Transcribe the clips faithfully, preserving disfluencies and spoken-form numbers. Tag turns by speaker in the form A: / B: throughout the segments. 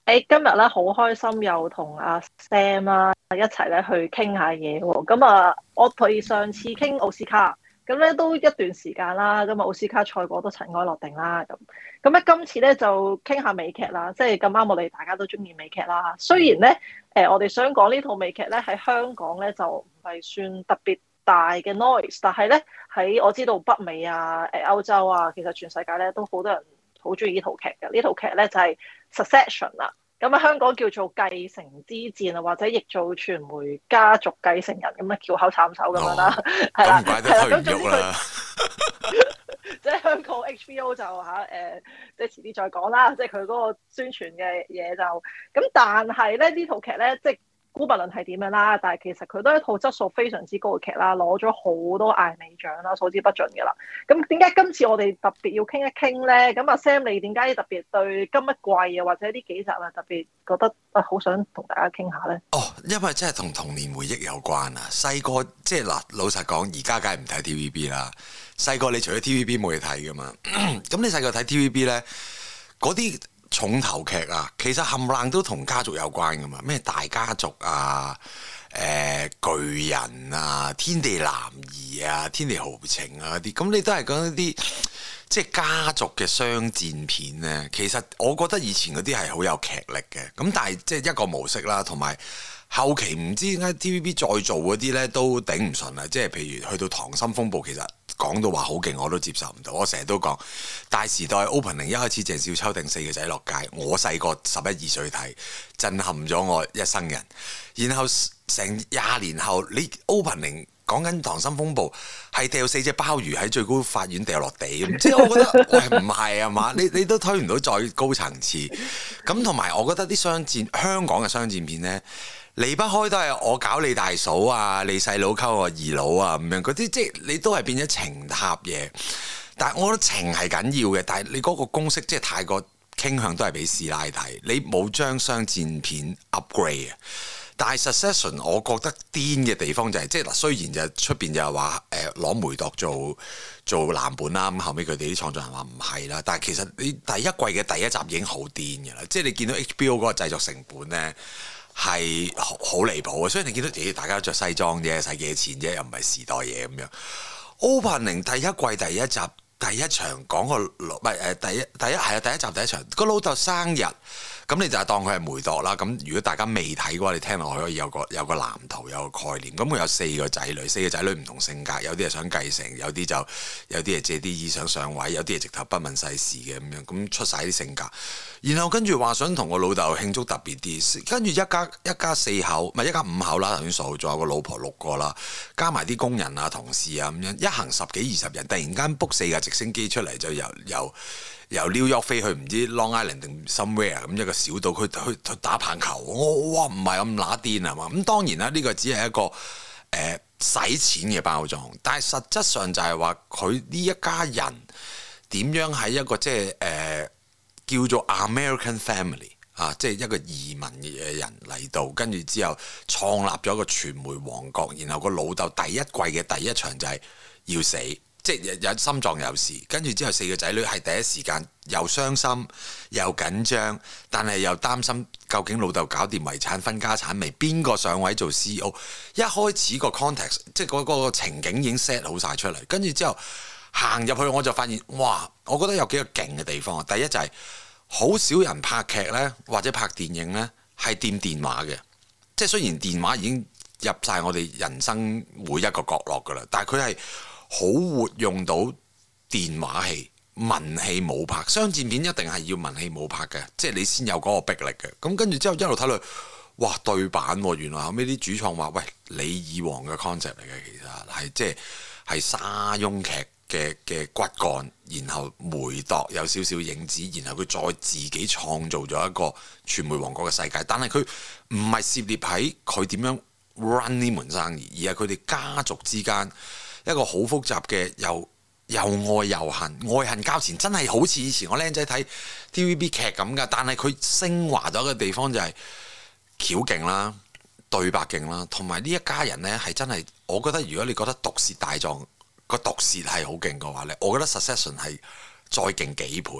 A: 誒，今日咧好開心，又同阿 Sam 啦一齊咧去傾下嘢喎。咁啊，我哋上次傾奧斯卡，咁咧都一段時間啦。咁啊，奧斯卡賽果都塵埃落定啦。咁咁咧，今次咧就傾下美劇啦。即係咁啱，我哋大家都中意美劇啦。雖然咧，誒，我哋想講呢套美劇咧喺香港咧就唔係算特別大嘅 noise，但係咧喺我知道北美啊、誒歐洲啊，其實全世界咧都好多人好中意呢套劇嘅。呢套劇咧就係 Succession 啦。咁啊，香港叫做繼承之戰啊，或者譯做傳媒家族繼承人咁啊，翹口插手咁樣啦，係啦、哦，係啦，咁總之佢即係香港 H B O 就嚇誒、呃，即係遲啲再講啦，即係佢嗰個宣傳嘅嘢就咁，但係咧呢套劇咧即係。姑勿論係點樣啦，但係其實佢都係一套質素非常之高嘅劇啦，攞咗好多艾美獎啦，數之不盡嘅啦。咁點解今次我哋特別要傾一傾咧？咁阿 Sam，你點解特別對今一季啊，或者呢幾集啊，特別覺得啊好想同大家傾下咧？
B: 哦，因為真係同童年回憶有關啊！細個即係嗱，老實講，而家梗係唔睇 T V B 啦。細個你除咗 T V B 冇嘢睇噶嘛？咁你細個睇 T V B 咧，嗰啲重頭劇啊，其實冚唪唥都同家族有關噶嘛，咩大家族啊、誒、呃、巨人啊、天地男兒啊、天地豪情啊嗰啲，咁你都係講一啲即係家族嘅商戰片咧。其實我覺得以前嗰啲係好有劇力嘅，咁但係即係一個模式啦，同埋後期唔知點解 T V B 再做嗰啲咧都頂唔順啊，即係譬如去到《溏心風暴》，其實講到話好勁，我都接受唔到。我成日都講大時代 opening 一開始鄭少秋掟四個仔落街，我細個十一二歲睇，震撼咗我一生人。然後成廿年後，你 opening 講緊《溏心風暴》係掉四隻鮑魚喺最高法院掉落地，即係我覺得喂唔係啊嘛，你你都推唔到再高層次。咁同埋我覺得啲商戰香港嘅商戰片呢，離不開都係我搞你大嫂啊，你細佬溝我二佬啊咁樣嗰啲，即係你都係變咗情塔嘢。但係我覺得情係緊要嘅，但係你嗰個公式即係太過傾向都係俾師奶睇，你冇將商戰片 upgrade 啊。但係 Succession 我覺得癲嘅地方就係、是、即係嗱，雖然就出邊就係話誒攞梅鐸做做藍本啦，咁後尾佢哋啲創作人話唔係啦，但係其實你第一季嘅第一集已經好癲嘅啦，即係你見到 H B O 嗰個製作成本咧係好離譜啊！所以你見到咦大家都着西裝啫，使幾錢啫，又唔係時代嘢咁樣。Opening 第一季第一集第一場講個老唔係誒第一第一係啊第一集第一場個老豆生日。咁你就係當佢係梅鐸啦。咁如果大家未睇嘅話，你聽落去可以有個有個藍圖，有個概念。咁佢有四個仔女，四個仔女唔同性格，有啲係想繼承，有啲就有啲係借啲意想上位，有啲係直頭不問世事嘅咁樣。咁出晒啲性格，然後跟住話想同個老豆慶祝特別啲，跟住一家一家四口，唔係一家五口啦，頭先數，仲有個老婆六個啦，加埋啲工人啊、同事啊咁樣，一行十幾二十人，突然間 book 四架直升機出嚟，就由由由 New York 飛去唔知 Long Island 定 somewhere 咁一個小島，去去去打棒球。我哇唔係咁乸癲啊嘛！咁當然啦，呢個只係一個誒使、呃、錢嘅包裝，但係實質上就係話佢呢一家人點樣喺一個即係誒、呃、叫做 American family 啊，即係一個移民嘅人嚟到，跟住之後創立咗一個傳媒王國，然後個老豆第一季嘅第一場就係要死。即係有心臟有事，跟住之後四個仔女係第一時間又傷心又緊張，但係又擔心究竟老豆搞掂遺產分家產未？邊個上位做 C E O？ 一開始個 context 即係嗰個情景已經 set 好晒出嚟，跟住之後行入去我就發現，哇！我覺得有幾個勁嘅地方。第一就係、是、好少人拍劇呢，或者拍電影呢，係掂電話嘅。即係雖然電話已經入晒我哋人生每一個角落㗎啦，但係佢係好活用到電話戲、文戲武拍，商戰片一定係要文戲武拍嘅，即係你先有嗰個逼力嘅。咁跟住之後一路睇落，哇對版喎、啊！原來後尾啲主創話：喂，你以往嘅 concept 嚟嘅，其實係即係係沙翁劇嘅嘅骨幹，然後梅鐸有少少影子，然後佢再自己創造咗一個傳媒王國嘅世界。但係佢唔係涉獵喺佢點樣 run 呢門生意，而係佢哋家族之間一個好複雜嘅，又又愛又恨，愛恨交纏，真係好似以前我僆仔睇 T V B 劇咁噶。但係佢升華咗嘅地方就係橋勁啦、對白勁啦，同埋呢一家人呢係真係，我覺得如果你覺得毒舌大狀個毒舌係好勁嘅話呢，我覺得 Succession 係再勁幾倍。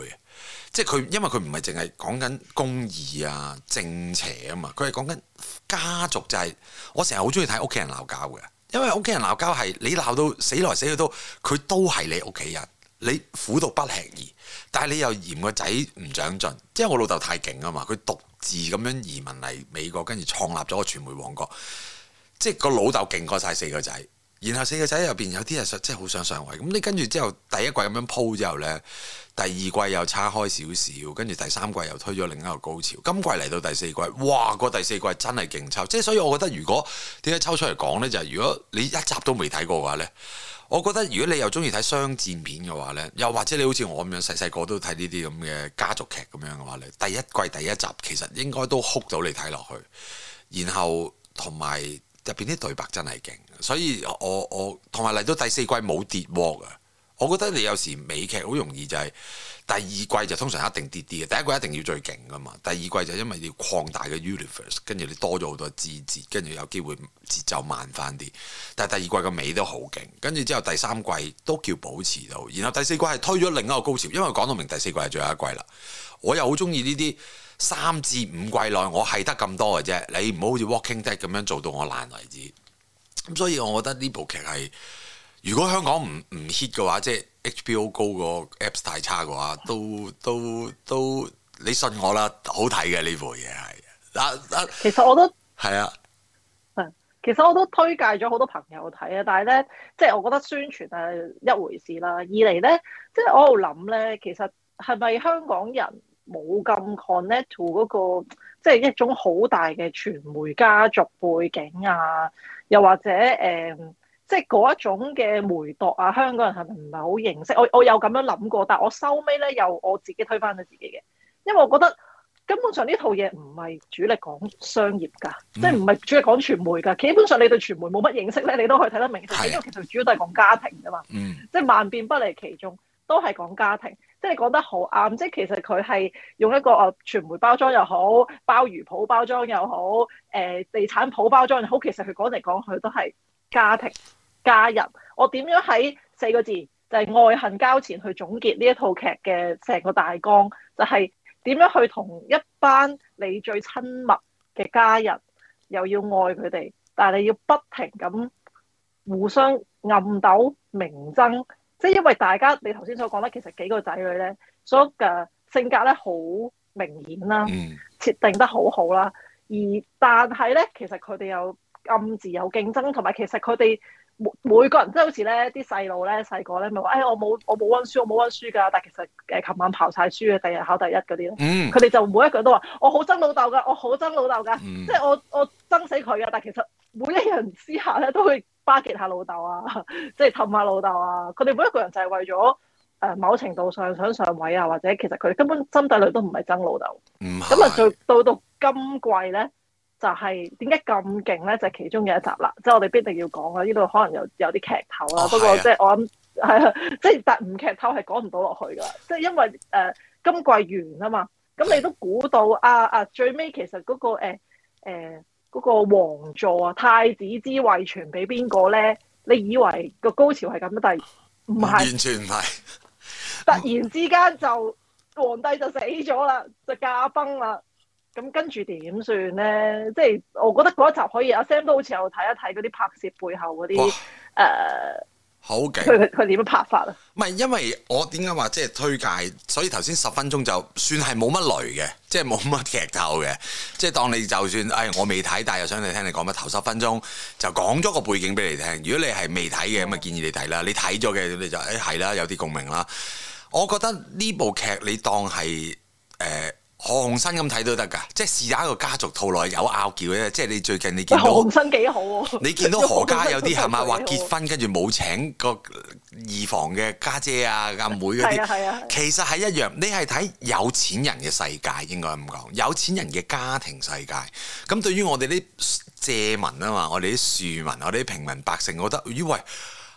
B: 即係佢因為佢唔係淨係講緊公義啊正邪啊嘛，佢係講緊家族就係、是、我成日好中意睇屋企人鬧交嘅，因為屋企人鬧交係你鬧到死來死去都佢都係你屋企人，你苦毒不吃兒，但係你又嫌個仔唔長進，即係我老豆太勁啊嘛，佢獨自咁樣移民嚟美國，跟住創立咗個傳媒王國，即係個老豆勁過晒四個仔。然後四個仔入邊有啲係真係好想上位，咁你跟住之後第一季咁樣鋪之後呢，第二季又叉開少少，跟住第三季又推咗另一個高潮，今季嚟到第四季，哇！個第四季真係勁抽，即係所以我覺得如果點解抽出嚟講呢？就係、是、如果你一集都未睇過嘅話呢，我覺得如果你又中意睇商戰片嘅話呢，又或者你好似我咁樣細細個都睇呢啲咁嘅家族劇咁樣嘅話呢，第一季第一集其實應該都哭到你睇落去，然後同埋入邊啲對白真係勁。所以我我同埋嚟到第四季冇跌鑊啊！我覺得你有時美劇好容易就係第二季就通常一定跌啲嘅，第一季一定要最勁噶嘛。第二季就因為要擴大嘅 universe， 跟住你多咗好多枝節，跟住有機會節奏慢翻啲。但係第二季個尾都好勁，跟住之後第三季都叫保持到，然後第四季係推咗另一個高潮，因為講到明第四季係最後一季啦。我又好中意呢啲三至五季內我係得咁多嘅啫，你唔好好似 Walking Dead 咁樣做到我爛為止。咁所以我覺得呢部劇係，如果香港唔唔 hit 嘅話，即係 H B O 高個 apps 太差嘅話，都都都你信我啦，好睇嘅呢部嘢係。啊啊，
A: 其實我都
B: 係啊，
A: 係，其實我都推介咗好多朋友睇啊，但係咧，即係我覺得宣傳係一回事啦。二嚟咧，即係我喺度諗咧，其實係咪香港人冇咁 connect to 嗰個，即係一種好大嘅傳媒家族背景啊？又或者誒、呃，即係嗰一種嘅媒體啊，香港人係咪唔係好認識？我我有咁樣諗過，但係我收尾咧又我自己推翻咗自己嘅，因為我覺得根本上呢套嘢唔係主力講商業㗎，嗯、即係唔係主力講傳媒㗎。基本上你對傳媒冇乜認識咧，你都可以睇得明。因為其實主要都係講家庭㗎嘛，嗯、即係萬變不離其宗，都係講家庭。即係你講得好啱，即係其實佢係用一個誒傳媒包裝又好，鮑魚鋪包裝又好，誒、呃、地產鋪包裝又好，其實佢講嚟講去都係家庭家人。我點樣喺四個字就係、是、愛恨交纏去總結呢一套劇嘅成個大綱，就係、是、點樣去同一班你最親密嘅家人，又要愛佢哋，但係你要不停咁互相暗鬥明爭。即係因為大家你頭先所講咧，其實幾個仔女咧，所有嘅性格咧好明顯啦，設定得好好啦。而但係咧，其實佢哋又暗自有競爭，同埋其實佢哋每每個人即係好似咧啲細路咧細個咧咪話，哎我冇我冇溫書，我冇溫書㗎。但係其實誒琴晚刨晒書嘅，第日考第一嗰啲咧，佢哋、嗯、就每一個人都話我好憎老豆㗎，我好憎老豆㗎，嗯、即係我我憎死佢㗎。但係其實每一人私下咧都會巴結下老豆啊，即係氹下老豆啊！佢哋每一個人就係為咗誒、呃、某程度上想上位啊，或者其實佢哋根本心底裏都唔係憎老豆。咁啊是，到到到今季咧，就係點解咁勁咧？就係、是、其中嘅一集啦，即係我哋必定要講啊！呢度可能有有啲劇透啦，哦、不過即係我諗係啊，即係但唔劇透係講唔到落去㗎，即係因為誒、呃、今季完啊嘛，咁你都估到啊啊最尾其實嗰、那個誒誒。呃呃嗰個王座啊，太子之位傳俾邊個咧？你以為個高潮係咁，但係唔係，完全唔係。突然之間就皇帝就死咗啦，就駕崩啦。咁跟住點算咧？即係我覺得嗰一集可以，阿 Sam 都好似有睇一睇嗰啲拍攝背後嗰啲誒。好勁！佢佢點樣拍法啊？
B: 唔係，因為我點解話即係推介，所以頭先十分鐘就算係冇乜雷嘅，即係冇乜劇透嘅，即係當你就算，哎，我未睇，但係又想你聽你講乜，頭十分鐘就講咗個背景俾你聽。如果你係未睇嘅，咁啊建議你睇啦。你睇咗嘅，你就誒係啦，有啲共鳴啦。我覺得呢部劇你當係誒。呃何鴻燊咁睇都得㗎，即係試下一個家族套內有拗撬嘅，即係你最近你見到
A: 何鴻燊幾好喎？
B: 你見到何家有啲係咪話結婚跟住冇請個二房嘅家姐啊、阿妹嗰啲，
A: 係啊，
B: 其實係一樣。你係睇有錢人嘅世界，應該咁講，有錢人嘅家庭世界。咁對於我哋啲庶民啊嘛，我哋啲庶民，我哋啲平民百姓，我覺得咦喂，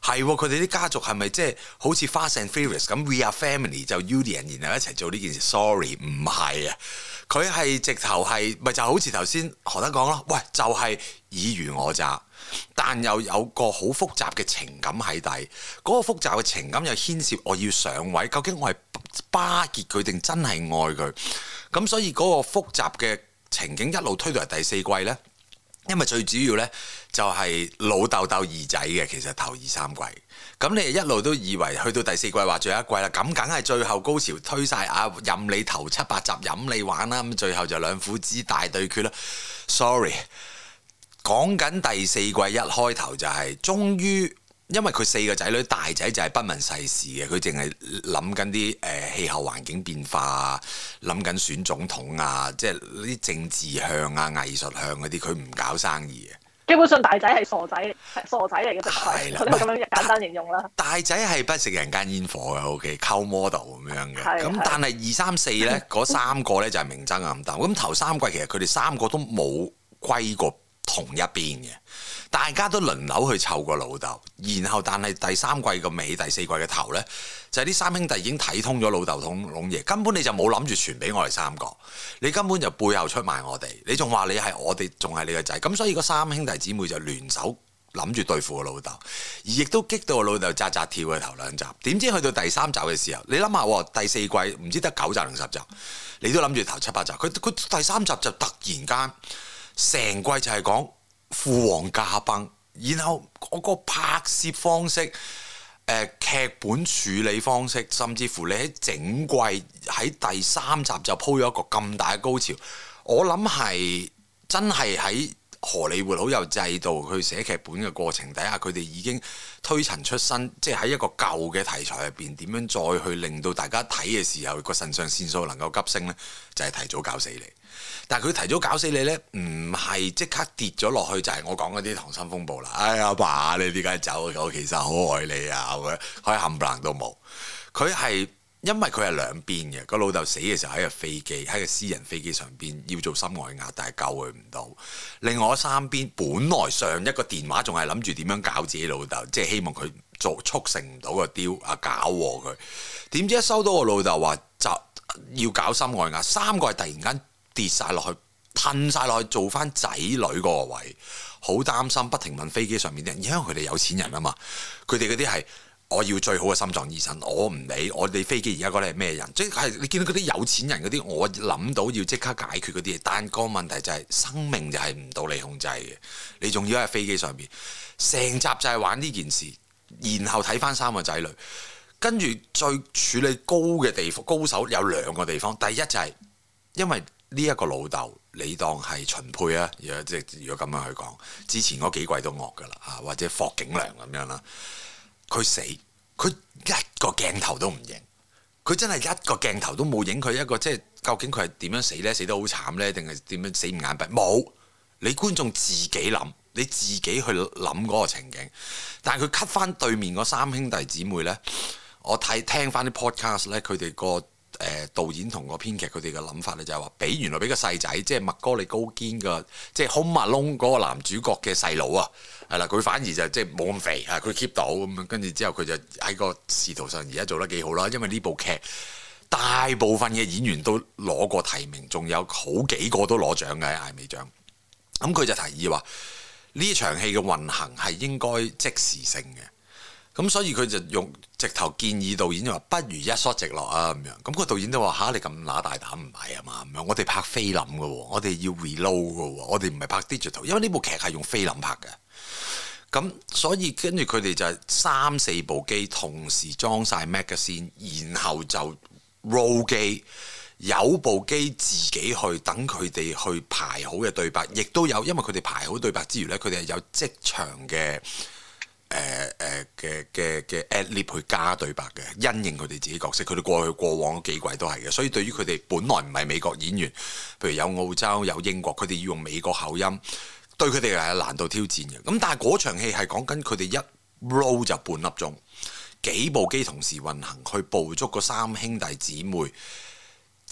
B: 係佢哋啲家族係咪即係好似 Fast and Furious 咁 We are family 就 Union 然後一齊做呢件事 ？Sorry， 唔係啊，佢係直頭係咪就好似頭先何德講咯？喂，就係、是、爾虞我詐，但又有個好複雜嘅情感喺底。嗰、那個複雜嘅情感又牽涉我要上位，究竟我係巴結佢定真係愛佢？咁所以嗰個複雜嘅情景一路推到嚟第四季呢。因為最主要呢，就係老豆鬥二仔嘅，其實頭二三季，咁你一路都以為去到第四季話最後一季啦，咁梗係最後高潮推晒啊，任你頭七八集任你玩啦，咁最後就兩父子大對決啦。Sorry， 講緊第四季一開頭就係、是、終於。因為佢四個仔女，大仔就係不問世事嘅，佢淨係諗緊啲誒氣候環境變化啊，諗緊選總統啊，即係啲政治向啊、藝術向嗰啲，佢唔搞生意嘅。基
A: 本上大仔係傻仔，係傻仔嚟嘅，係佢咁樣簡單形容啦。大仔
B: 係不食人間煙火嘅 ，OK， 溝 model 咁樣嘅。咁但係二三四咧，嗰三個咧就係明爭暗鬥。咁頭三季其實佢哋三個都冇歸過同一邊嘅。大家都輪流去湊個老豆，然後但係第三季個尾、第四季嘅頭呢，就係、是、啲三兄弟已經睇通咗老豆同龍爺，根本你就冇諗住傳俾我哋三個，你根本就背後出賣我哋，你仲話你係我哋，仲係你個仔，咁所以個三兄弟姊妹就聯手諗住對付個老豆，而亦都激到個老豆扎扎跳嘅頭兩集，點知去到第三集嘅時候，你諗下喎，第四季唔知得九集定十集，你都諗住頭七八集，佢佢第三集就突然間成季就係講父王駕崩，然後嗰個拍攝方式、誒、呃、劇本處理方式，甚至乎你喺整季喺第三集就鋪咗一個咁大嘅高潮，我諗係真係喺荷里活好有制度去寫劇本嘅過程底下，佢哋已經推陳出新，即係喺一個舊嘅題材入邊點樣再去令到大家睇嘅時候個腎上腺素能夠急升呢？就係、是、提早搞死你。但係佢提早搞死你呢，唔係即刻跌咗落去，就係、是、我講嗰啲溏心風暴啦。哎呀，爸，你點解走？我其實好愛你啊！佢佢冚唪唥都冇。佢係因為佢係兩邊嘅，個老豆死嘅時候喺個飛機，喺個私人飛機上邊要做心外壓，但係救佢唔到。另外三邊本來上一個電話仲係諗住點樣搞自己老豆，即係希望佢做促成唔到個雕啊，搞禍佢。點知一收到個老豆話就要搞心外壓，三個係突然間跌晒落去，褪晒落去做翻仔女嗰個位，好擔心，不停問飛機上面啲人，因為佢哋有錢人啊嘛，佢哋嗰啲係我要最好嘅心臟醫生，我唔理我哋飛機而家嗰啲係咩人，即係你見到嗰啲有錢人嗰啲，我諗到要即刻解決嗰啲嘢，但個問題就係、是、生命就係唔到你控制嘅，你仲要喺飛機上邊，成集就係玩呢件事，然後睇翻三個仔女，跟住最處理高嘅地方，高手有兩個地方，第一就係、是、因為呢一個老豆，你當係秦沛啊，如果即係如果咁樣去講，之前嗰幾季都惡噶啦嚇，或者霍景良咁樣啦，佢死，佢一個鏡頭都唔影，佢真係一個鏡頭都冇影佢一個，即係究竟佢係點樣死呢？死得好慘呢？定係點樣死唔眼閉？冇，你觀眾自己諗，你自己去諗嗰個情景，但係佢 cut 翻對面嗰三兄弟姊妹呢，我睇聽翻啲 podcast 呢，佢哋個。誒、呃、導演同個編劇佢哋嘅諗法咧，就係話俾原來俾個細仔，即係麥哥利高堅嘅，即係 Home Alone嗰個男主角嘅細佬啊，係啦，佢反而就即係冇咁肥啊，佢 keep 到咁樣，跟住之後佢就喺個仕途上而家做得幾好啦，因為呢部劇大部分嘅演員都攞過提名，仲有好幾個都攞獎嘅喺艾美獎。咁佢就提議話呢場戲嘅運行係應該即時性嘅。咁所以佢就用直頭建議導演就話不如一 shot 直落啊咁樣，咁個導演都話吓，你咁乸大膽唔係啊嘛咁樣，我哋拍菲林嘅喎，我哋要 reload 嘅喎，我哋唔係拍 digital，因為呢部劇係用菲林拍嘅。咁所以跟住佢哋就係三四部機同時裝晒 magazine，然後就 roll 機，有部機自己去等佢哋去排好嘅對白，亦都有，因為佢哋排好對白之餘呢，佢哋係有即場嘅。誒誒嘅嘅嘅 ad-lib 去加對白嘅，因應佢哋自己角色，佢哋過去過往幾季都係嘅，所以對於佢哋本來唔係美國演員，譬如有澳洲有英國，佢哋要用美國口音，對佢哋係有難度挑戰嘅。咁但係嗰場戲係講緊佢哋一 roll 就半粒鐘，幾部機同時運行去捕捉個三兄弟姊妹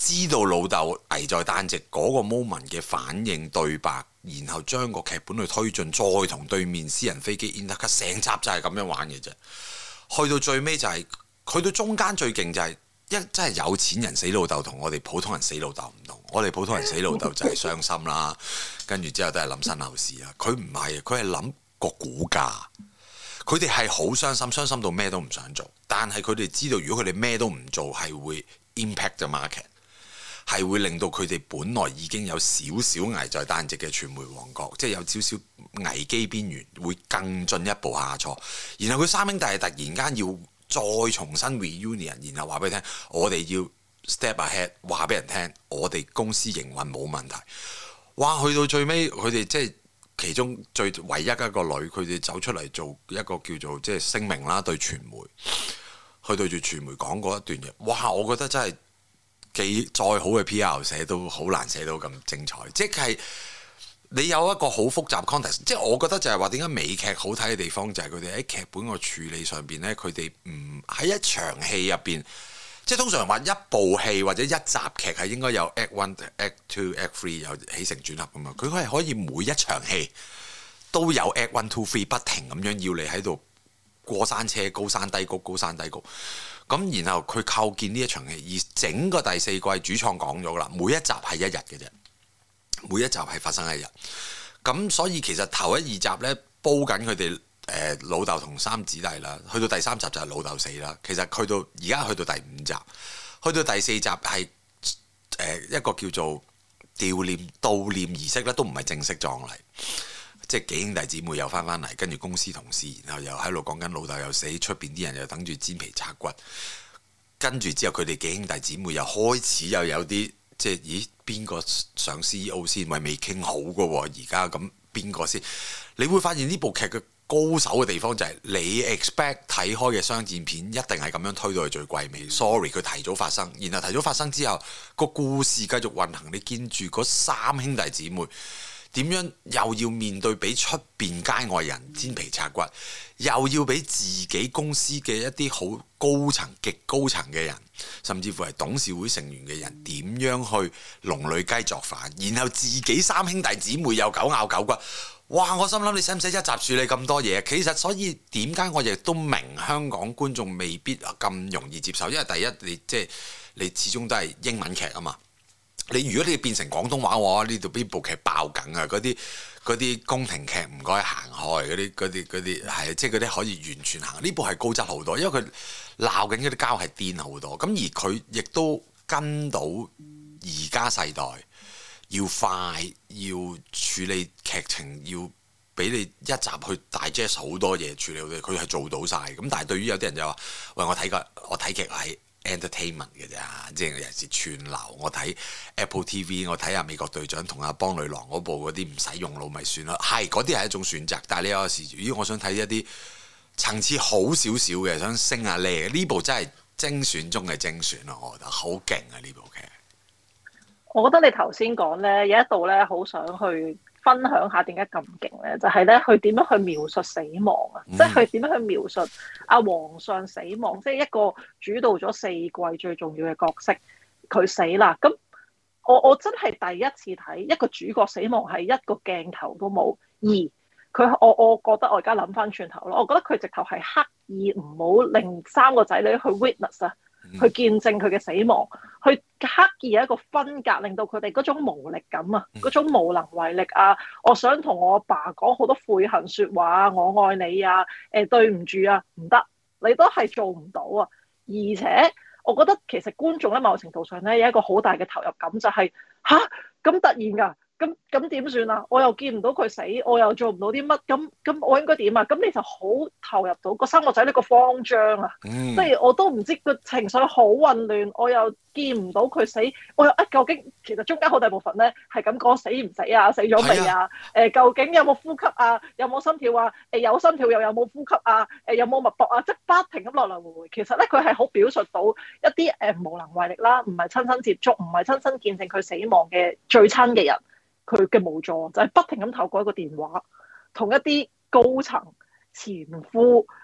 B: 知道老豆危在旦夕嗰個 moment 嘅反應對白，然後將個劇本去推進，再同對面私人飛機 intercut，成集就係咁樣玩嘅啫。去到最尾就係、是，去到中間最勁就係、是、一真係有錢人死老豆同我哋普通人死老豆唔同。我哋普通人死老豆就係傷心啦，跟住之後都係諗身後事啦。佢唔係，佢係諗個股價。佢哋係好傷心，傷心到咩都唔想做。但係佢哋知道，如果佢哋咩都唔做，係會 impact the market， 係會令到佢哋本來已經有少少危在旦夕嘅傳媒王國，即係有少少危機邊緣，會更進一步下挫。然後佢三兄弟係突然間要再重新 reunion， 然後話俾你聽，我哋要 step ahead， 話俾人聽，我哋公司營運冇問題。哇！去到最尾，佢哋即係。其中最唯一一個女，佢哋走出嚟做一個叫做即係聲明啦，對傳媒，去對住傳媒講嗰一段嘢，哇！我覺得真係幾再好嘅 P R 寫都好難寫到咁精彩，即係你有一個好複雜 context， 即係我覺得就係話點解美劇好睇嘅地方就係佢哋喺劇本個處理上邊呢，佢哋唔喺一場戲入邊。即係通常話一部戲或者一集劇係應該有 Act One、Act Two、Act Three 有起承轉合㗎嘛，佢係可以每一場戲都有 Act One、Two、Three 不停咁樣要你喺度過山車、高山低谷、高山低谷。咁然後佢構建呢一場戲，而整個第四季主創講咗啦，每一集係一日嘅啫，每一集係發生一日。咁所以其實頭一二集呢，煲緊佢哋。誒、呃、老豆同三姊弟啦，去到第三集就係老豆死啦。其實去到而家去到第五集，去到第四集係誒、呃、一個叫做悼念悼念儀式咧，都唔係正式葬禮，即係幾兄弟姊妹又翻返嚟，跟住公司同事，然後又喺度講緊老豆又死，出邊啲人又等住煎皮拆骨，跟住之後佢哋幾兄弟姊妹又開始又有啲即係咦邊個上 C E O 先，咪未傾好嘅喎，而家咁邊個先？你會發現呢部劇嘅高手嘅地方就係你 expect 睇開嘅商戰片一定係咁樣推到去最貴尾。Sorry， 佢提早發生，然後提早發生之後個故事繼續運行。你見住嗰三兄弟姊妹點樣又要面對俾出邊街外人煎皮拆骨，又要俾自己公司嘅一啲好高層、極高層嘅人，甚至乎係董事會成員嘅人點樣去龍女雞作反，然後自己三兄弟姊妹又狗咬狗骨。哇！我心諗你使唔使一集處理咁多嘢？其實所以點解我亦都明香港觀眾未必咁容易接受，因為第一你即係你始終都係英文劇啊嘛。你如果你變成廣東話嘅話，呢度邊部劇爆緊啊！嗰啲嗰啲宮廷劇唔該行開，嗰啲嗰啲嗰啲係即係嗰啲可以完全行。呢部係高質好多，因為佢鬧緊嗰啲膠係癲好多。咁而佢亦都跟到而家世代。要快，要處理劇情，要俾你一集去 digest 好多嘢處理到，佢係做到晒。咁但係對於有啲人就話：喂，我睇個我睇劇係 entertainment 嘅咋，即係尤其是串流。我睇 Apple T V， 我睇下美國隊長同阿邦女郎嗰部嗰啲唔使用腦咪算啦。係嗰啲係一種選擇，但係你有時咦，我想睇一啲層次好少少嘅，想升下呢呢部真係精選中嘅精選咯，我覺得好勁啊呢部劇。
A: 我覺得你頭先講咧，有一度咧，好想去分享下點解咁勁咧，就係咧，佢點樣去描述死亡啊？嗯、即係佢點樣去描述阿皇上死亡，即係一個主導咗四季最重要嘅角色，佢死啦。咁我我真係第一次睇一個主角死亡係一個鏡頭都冇，而佢我我覺得我而家諗翻轉頭咯，我覺得佢直頭係刻意唔好令三個仔女去 witness 啊。去見證佢嘅死亡，去刻意有一個分隔，令到佢哋嗰種無力感啊，嗰種無能為力啊，我想同我阿爸講好多悔恨説話啊，我愛你啊，誒、呃、對唔住啊，唔得，你都係做唔到啊！而且我覺得其實觀眾喺某程度上咧有一個好大嘅投入感，就係吓，咁突然㗎。咁咁點算啊？我又見唔到佢死，我又做唔到啲乜，咁咁我應該點啊？咁你就好投入到個三個仔呢個慌張啊！即係、嗯、我都唔知個情緒好混亂，我又見唔到佢死，我又啊究竟其實中間好大部分咧係咁講死唔死啊？死咗未啊？誒、呃、究竟有冇呼吸啊？有冇心跳啊？誒、呃、有心跳又有冇呼吸啊？誒、呃、有冇脈搏啊？即係不停咁來來回回。其實咧佢係好表述到一啲誒、呃、無能為力啦，唔係親身接觸，唔係親身見證佢死亡嘅最親嘅人。佢嘅無助就係不停咁透過一個電話，同一啲高層前夫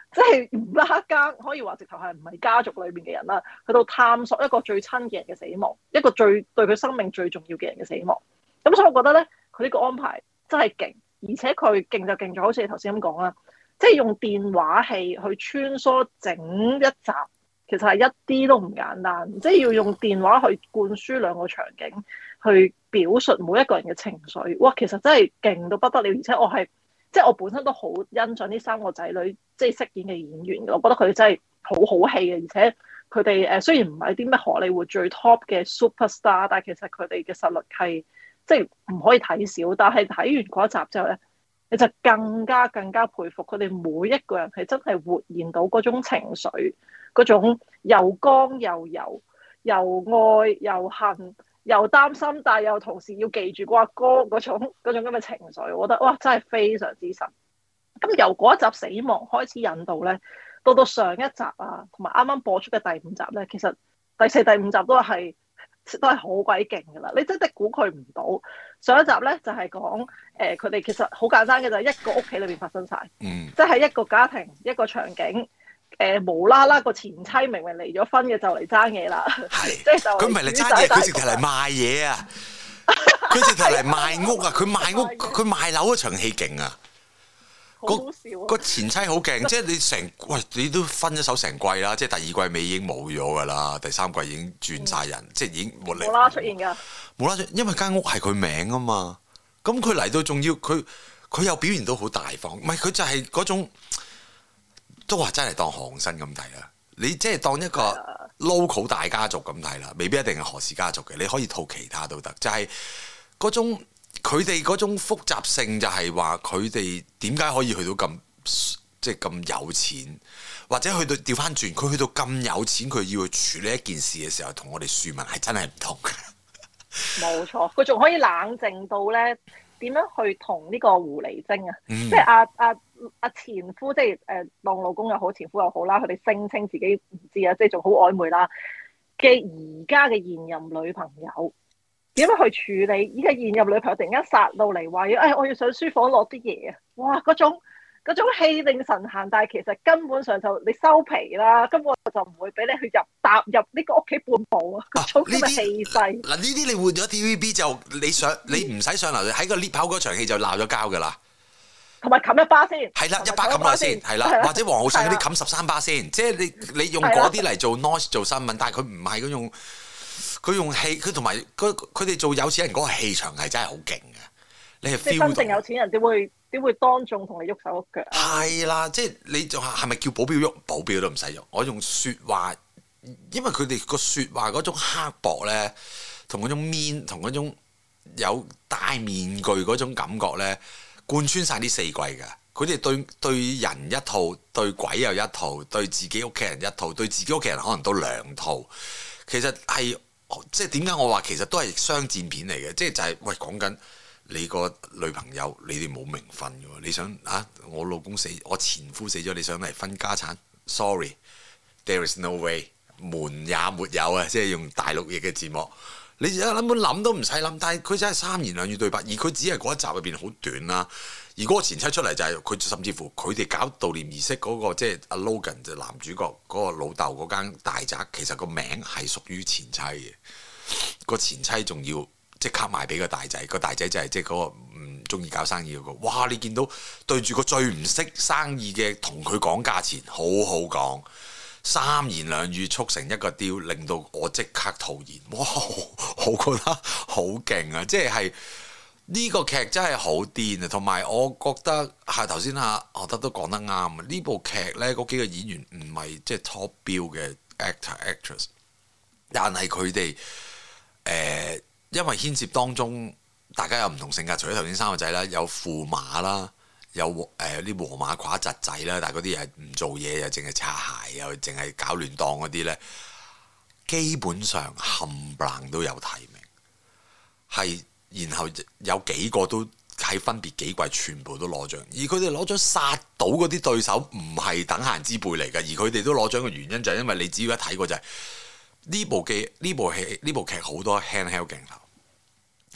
A: 即係唔拉更，可以話直頭係唔係家族裏面嘅人啦，去到探索一個最親嘅人嘅死亡，一個最對佢生命最重要嘅人嘅死亡。咁所以我覺得咧，佢呢個安排真係勁，而且佢勁就勁咗，好似你頭先咁講啦，即係用電話器去穿梭整一集，其實係一啲都唔簡單，即係要用電話去灌輸兩個場景，去表述每一個人嘅情緒。哇，其實真係勁到不得了，而且我係。即係我本身都好欣賞呢三個仔女即係飾演嘅演員嘅，我覺得佢哋真係好好戲嘅，而且佢哋誒雖然唔係啲咩荷里活最 top 嘅 superstar，但係其實佢哋嘅實力係即係唔可以睇少。但係睇完嗰一集之後咧，你就更加更加佩服佢哋每一個人係真係活現到嗰種情緒，嗰種又剛又柔，又愛又恨。又擔心，但係又同時要記住個阿哥嗰種嗰種咁嘅情緒，我覺得哇真係非常之神。咁由嗰一集死亡開始引導咧，到到上一集啊，同埋啱啱播出嘅第五集咧，其實第四、第五集都係都係好鬼勁噶啦。你真係估佢唔到。上一集咧就係講誒佢哋其實好簡單嘅，就係一個屋企裏邊發生晒，
B: 嗯，
A: 即係一個家庭一個場景。誒、呃、無啦啦個前妻明明離咗婚嘅就嚟爭嘢啦，即係就佢
B: 唔係嚟爭嘢，佢直頭嚟賣嘢啊！佢直頭嚟賣屋啊！佢賣屋佢賣樓嗰場戲勁啊！
A: 好好笑啊！
B: 個前妻好勁，即係你成喂你都分咗手成季啦，即係第二季尾已經冇咗㗎啦，第三季已經轉晒人，嗯、即係已經冇嚟
A: 冇啦出現㗎，
B: 冇啦，因為間屋係佢名啊嘛，咁佢嚟到仲要佢佢又表現到好大方，唔係佢就係嗰種。都話真係當韓生咁睇啦，你即係當一個 local 大家族咁睇啦，未必一定係何氏家族嘅，你可以套其他都得，就係、是、嗰種佢哋嗰種複雜性，就係話佢哋點解可以去到咁即係咁有錢，或者去到調翻轉，佢去到咁有錢，佢要去處理一件事嘅時候，同我哋庶民係真係唔同嘅。冇
A: 錯，佢仲可以冷靜到咧，點樣去同呢個狐狸精啊，嗯、即係阿阿阿前夫，即係誒當老公又好，前夫又好啦，佢哋聲稱自己唔知啊，即係仲好曖昧啦嘅而家嘅現任女朋友，點樣去處理？依家現任女朋友突然間殺到嚟話要，誒我要上書房攞啲嘢啊！哇，嗰種嗰種氣定神閒，但係其實根本上就你收皮啦，根本就唔會俾你去入踏入呢個屋企半步啊！嗰種咁嘅氣勢。嗱呢啲你換咗 T V B 就你上你唔使上樓，喺個 lift 口嗰場戲就鬧咗交㗎啦。同埋冚一巴先。係啦，一巴冚落先，係啦，或者黃浩信嗰啲冚十三巴先，即係你你用嗰啲嚟做 noise 做新聞，但係佢唔係嗰種，佢用氣，佢同埋佢佢哋做有錢人嗰個氣場係真係好勁嘅，你係 feel 到。真正有錢人點會？點會當眾同你喐手喐腳啊？係啦，即係你就係咪叫保鏢喐？保鏢都唔使喐。我用説話，因為佢哋個説話嗰種刻薄咧，同嗰種 mean，同嗰種有戴面具嗰種感覺咧，貫穿晒呢四季㗎。佢哋對對人一套，對鬼又一套，對自己屋企人一套，對自己屋企人可能都兩套。其實係即係點解我話其實都係商戰片嚟嘅？即係就係、是、喂講緊。你個女朋友，你哋冇名分嘅喎，你想啊？我老公死，我前夫死咗，你想嚟分家產 ？Sorry，there is no way，門也沒有啊！即係用大陸譯嘅字幕，你而家根本諗都唔使諗。但係佢真係三言兩語對白，而佢只係嗰一集入邊好短啦。而嗰個前妻出嚟就係、是、佢，甚至乎佢哋搞悼念儀式嗰、那個，即係阿 Logan 就男主角嗰個老豆嗰間大宅，其實個名係屬於前妻嘅。個前妻仲要。即刻賣俾個大仔，個大仔就係即係嗰個唔中意搞生意嗰個。哇！你見到對住個最唔識生意嘅，同佢講價錢，好好講，三言兩語促成一個 deal，令到我即刻吐言。哇！我覺得好勁啊！即係呢個劇真係好癲啊！同埋我覺得係頭先啊，我覺得都講得啱啊！呢部劇呢，嗰幾個演員唔係即係 top 標嘅 actor actress，但係佢哋誒。呃因為牽涉當中，大家有唔同性格，除咗頭先三個仔啦，有駙馬啦，有誒啲和馬褂侄仔啦，但係嗰啲係唔做嘢，又淨係擦鞋，又淨係搞亂檔嗰啲咧，基本上冚唪唥都有提名，係然後有幾個都喺分別幾季全部都攞獎，而佢哋攞獎殺到嗰啲對手唔係等閒之輩嚟㗎，而佢哋都攞獎嘅原因就係因為你只要一睇過就係、是。呢部劇呢部戲呢部劇好多 handheld 鏡頭，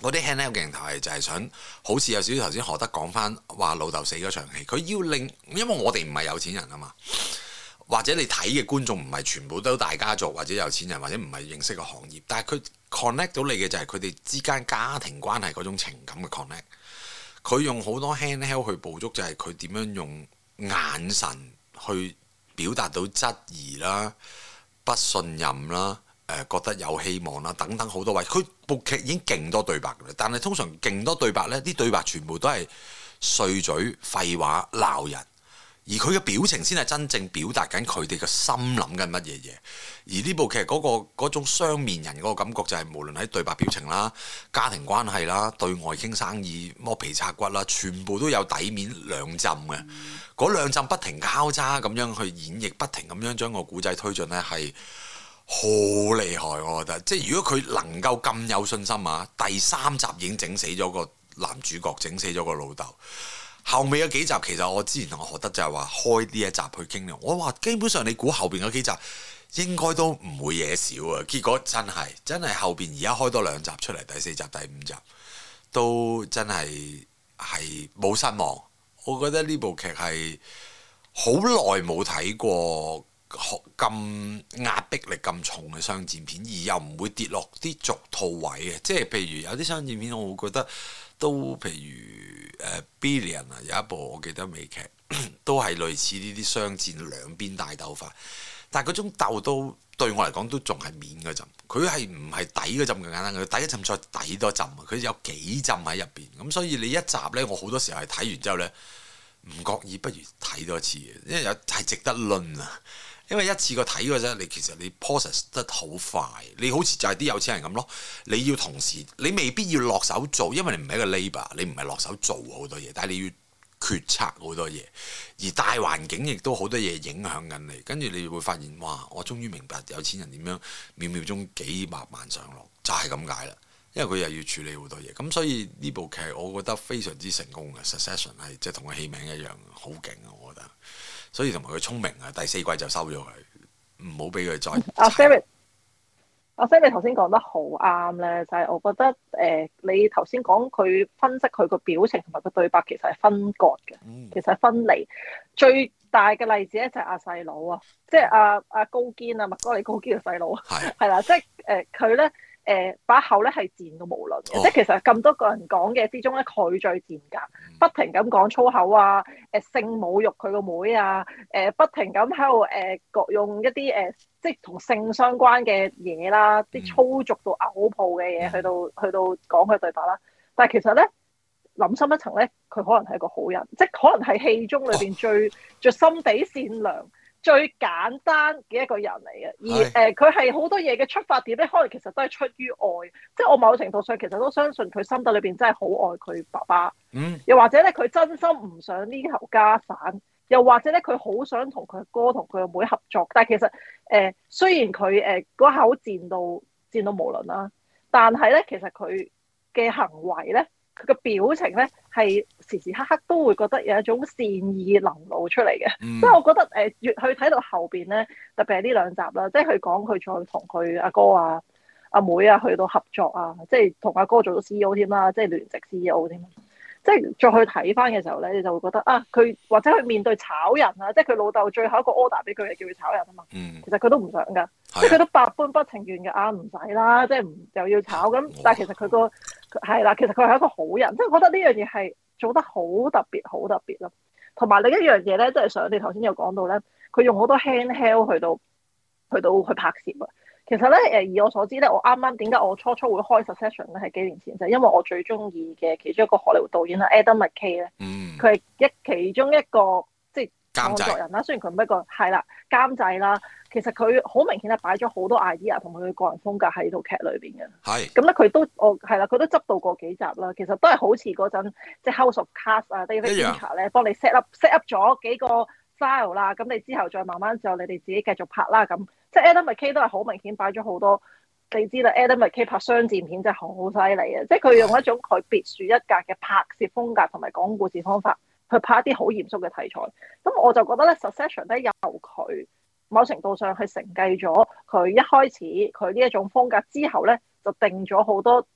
B: 嗰啲 handheld 鏡頭係就係想好似有少少頭先何德講翻話老豆死嗰場戲，佢要令，因為我哋唔係有錢人啊嘛，或者你睇嘅觀眾唔係全部都大家族或者有錢人或者唔係認識個行業，但係佢 connect 到你嘅就係佢哋之間家庭關係嗰種情感嘅 connect。佢用好多 handheld 去捕捉，就係佢點樣用眼神去表達到質疑啦、不信任啦。誒、呃、覺得有希望啦，等等好多位，佢部劇已經勁多對白㗎啦。但係通常勁多對白呢啲對白全部都係碎嘴、廢話、鬧人，而佢嘅表情先係真正表達緊佢哋嘅心諗緊乜嘢嘢。而呢部劇嗰、嗰個嗰種雙面人嗰個感覺就係、是、無論喺對白、表情啦、家庭關係啦、對外傾生意、剝皮拆骨啦，全部都有底面兩浸嘅。嗰、嗯、兩浸不停交叉咁樣去演繹，不停咁樣將個古仔推進呢係。好厲害，我覺得，即係如果佢能夠咁有信心啊，第三集已經整死咗個男主角，整死咗個老豆。後尾嗰幾集其實我之前同我何德就係話開呢一集去傾，我話基本上你估後邊嗰幾集應該都唔會嘢少啊。結果真係真係後邊而家開多兩集出嚟，第四集、第五集都真係係冇失望。我覺得呢部劇係好耐冇睇過。咁壓迫力咁重嘅商戰片，而又唔會跌落啲俗套位嘅，即係譬如有啲商戰片，我會覺得都譬如誒、uh, Billion 啊，有一部我記得美劇都係類似呢啲商戰兩邊大鬥法，但係嗰種鬥都對我嚟講都仲係面嗰陣，佢係唔係底嗰陣咁簡單，佢底一陣再底多陣，佢有幾陣喺入邊，咁所以你一集呢，我好多時候係睇完之後呢，唔覺意不如睇多次嘅，因為有係值得論啊。因為一次過睇嘅啫，你其實你 process 得好快，你好似就係啲有錢人咁咯。你要同時，你未必要落手做，因為你唔係一個 labor，你唔係落手做好多嘢，但係你要決策好多嘢，而大環境亦都好多嘢影響緊你。跟住你會發現，哇！我終於明白有錢人點樣秒秒鐘幾百萬上落，就係咁解啦。因為佢又要處理好多嘢，咁所以呢部劇我覺得非常之成功嘅。Succession 係即係同個戲名一樣，好勁啊！我覺得。所以同埋佢聰明啊，第四季就收咗佢，唔好俾佢再。
A: 阿 Sam，阿 Sam，你頭先講得好啱咧，就係、是、我覺得誒、呃，你頭先講佢分析佢個表情同埋個對白，其實係分割嘅，嗯、其實係分離。最大嘅例子咧就係阿細佬啊，即係阿阿高堅啊，麥哥利高堅嘅細佬，係係啦，即係誒佢咧。誒把、呃、口咧係賤到無倫嘅，哦、即係其實咁多個人講嘅之中咧，佢最賤格，嗯、不停咁講粗口啊，誒、呃、性侮辱佢個妹啊，誒、呃、不停咁喺度誒各用一啲誒、呃、即係同性相關嘅嘢啦，啲、嗯、粗俗到嘔泡嘅嘢去到、嗯、去到講佢對白啦。但係其實咧諗深一層咧，佢可能係一個好人，即係可能係戲中裏邊最、哦、最心地善良。最簡單嘅一個人嚟嘅，而誒佢係好多嘢嘅出發點咧，可能其實都係出於愛，即係我某程度上其實都相信佢心底裏邊真係好愛佢爸爸，嗯，又或者咧佢真心唔想呢頭家散，又或者咧佢好想同佢哥同佢個妹合作，但係其實誒、呃、雖然佢誒嗰口賤到賤到無倫啦，但係咧其實佢嘅行為咧。佢個表情咧係時時刻刻都會覺得有一種善意流露出嚟嘅，即係、嗯、我覺得誒、呃、越去睇到後邊咧，特別係呢兩集啦，即係佢講佢再同佢阿哥啊、阿妹啊去到合作啊，即係同阿哥做咗 C E O 添啦，即係聯席 C E O 添，即係再去睇翻嘅時候咧，你就會覺得啊，佢或者佢面對炒人啊，即係佢老豆最後一個 order 俾佢係叫佢炒人啊嘛，嗯、其實佢都唔想噶，即係佢都百般不情願嘅啊，唔使啦，即係唔又要炒咁，但係其實佢個。係啦，其實佢係一個好人，即係我覺得呢樣嘢係做得好特別，好特別咯。同埋另一樣嘢咧，即係上你頭先有講到咧，佢用好多 handheld 去到去到去拍攝啊。其實咧，誒以我所知咧，我啱啱點解我初初會開 Succession 咧，係幾年前就係因為我最中意嘅其中一個荷里活導演啦，Adam McKay 咧，佢係一其中一個即係創作人啦。雖然佢唔係一個係啦監製啦。其實佢好明顯係擺咗好多 idea 同埋佢個人風格喺套劇裏邊嘅。係咁咧，佢都我係啦，佢都執到過幾集啦。其實都係好似嗰陣即係 House of Cards 啊 ，David Fincher 咧幫你 set up set up 咗幾個 style 啦。咁你之後再慢慢就你哋自己繼續拍啦。咁即係 Adam McKay 都係好明顯擺咗好多。你知啦 ，Adam McKay 拍商戰片真係好犀利嘅，即係佢用一種佢別樹一格嘅拍攝風格同埋講故事方法去拍一啲好嚴肅嘅題材。咁我就覺得咧 ，Succession 咧由佢。某程度上係承繼咗佢一開始佢呢一種風格之後咧，就定咗好多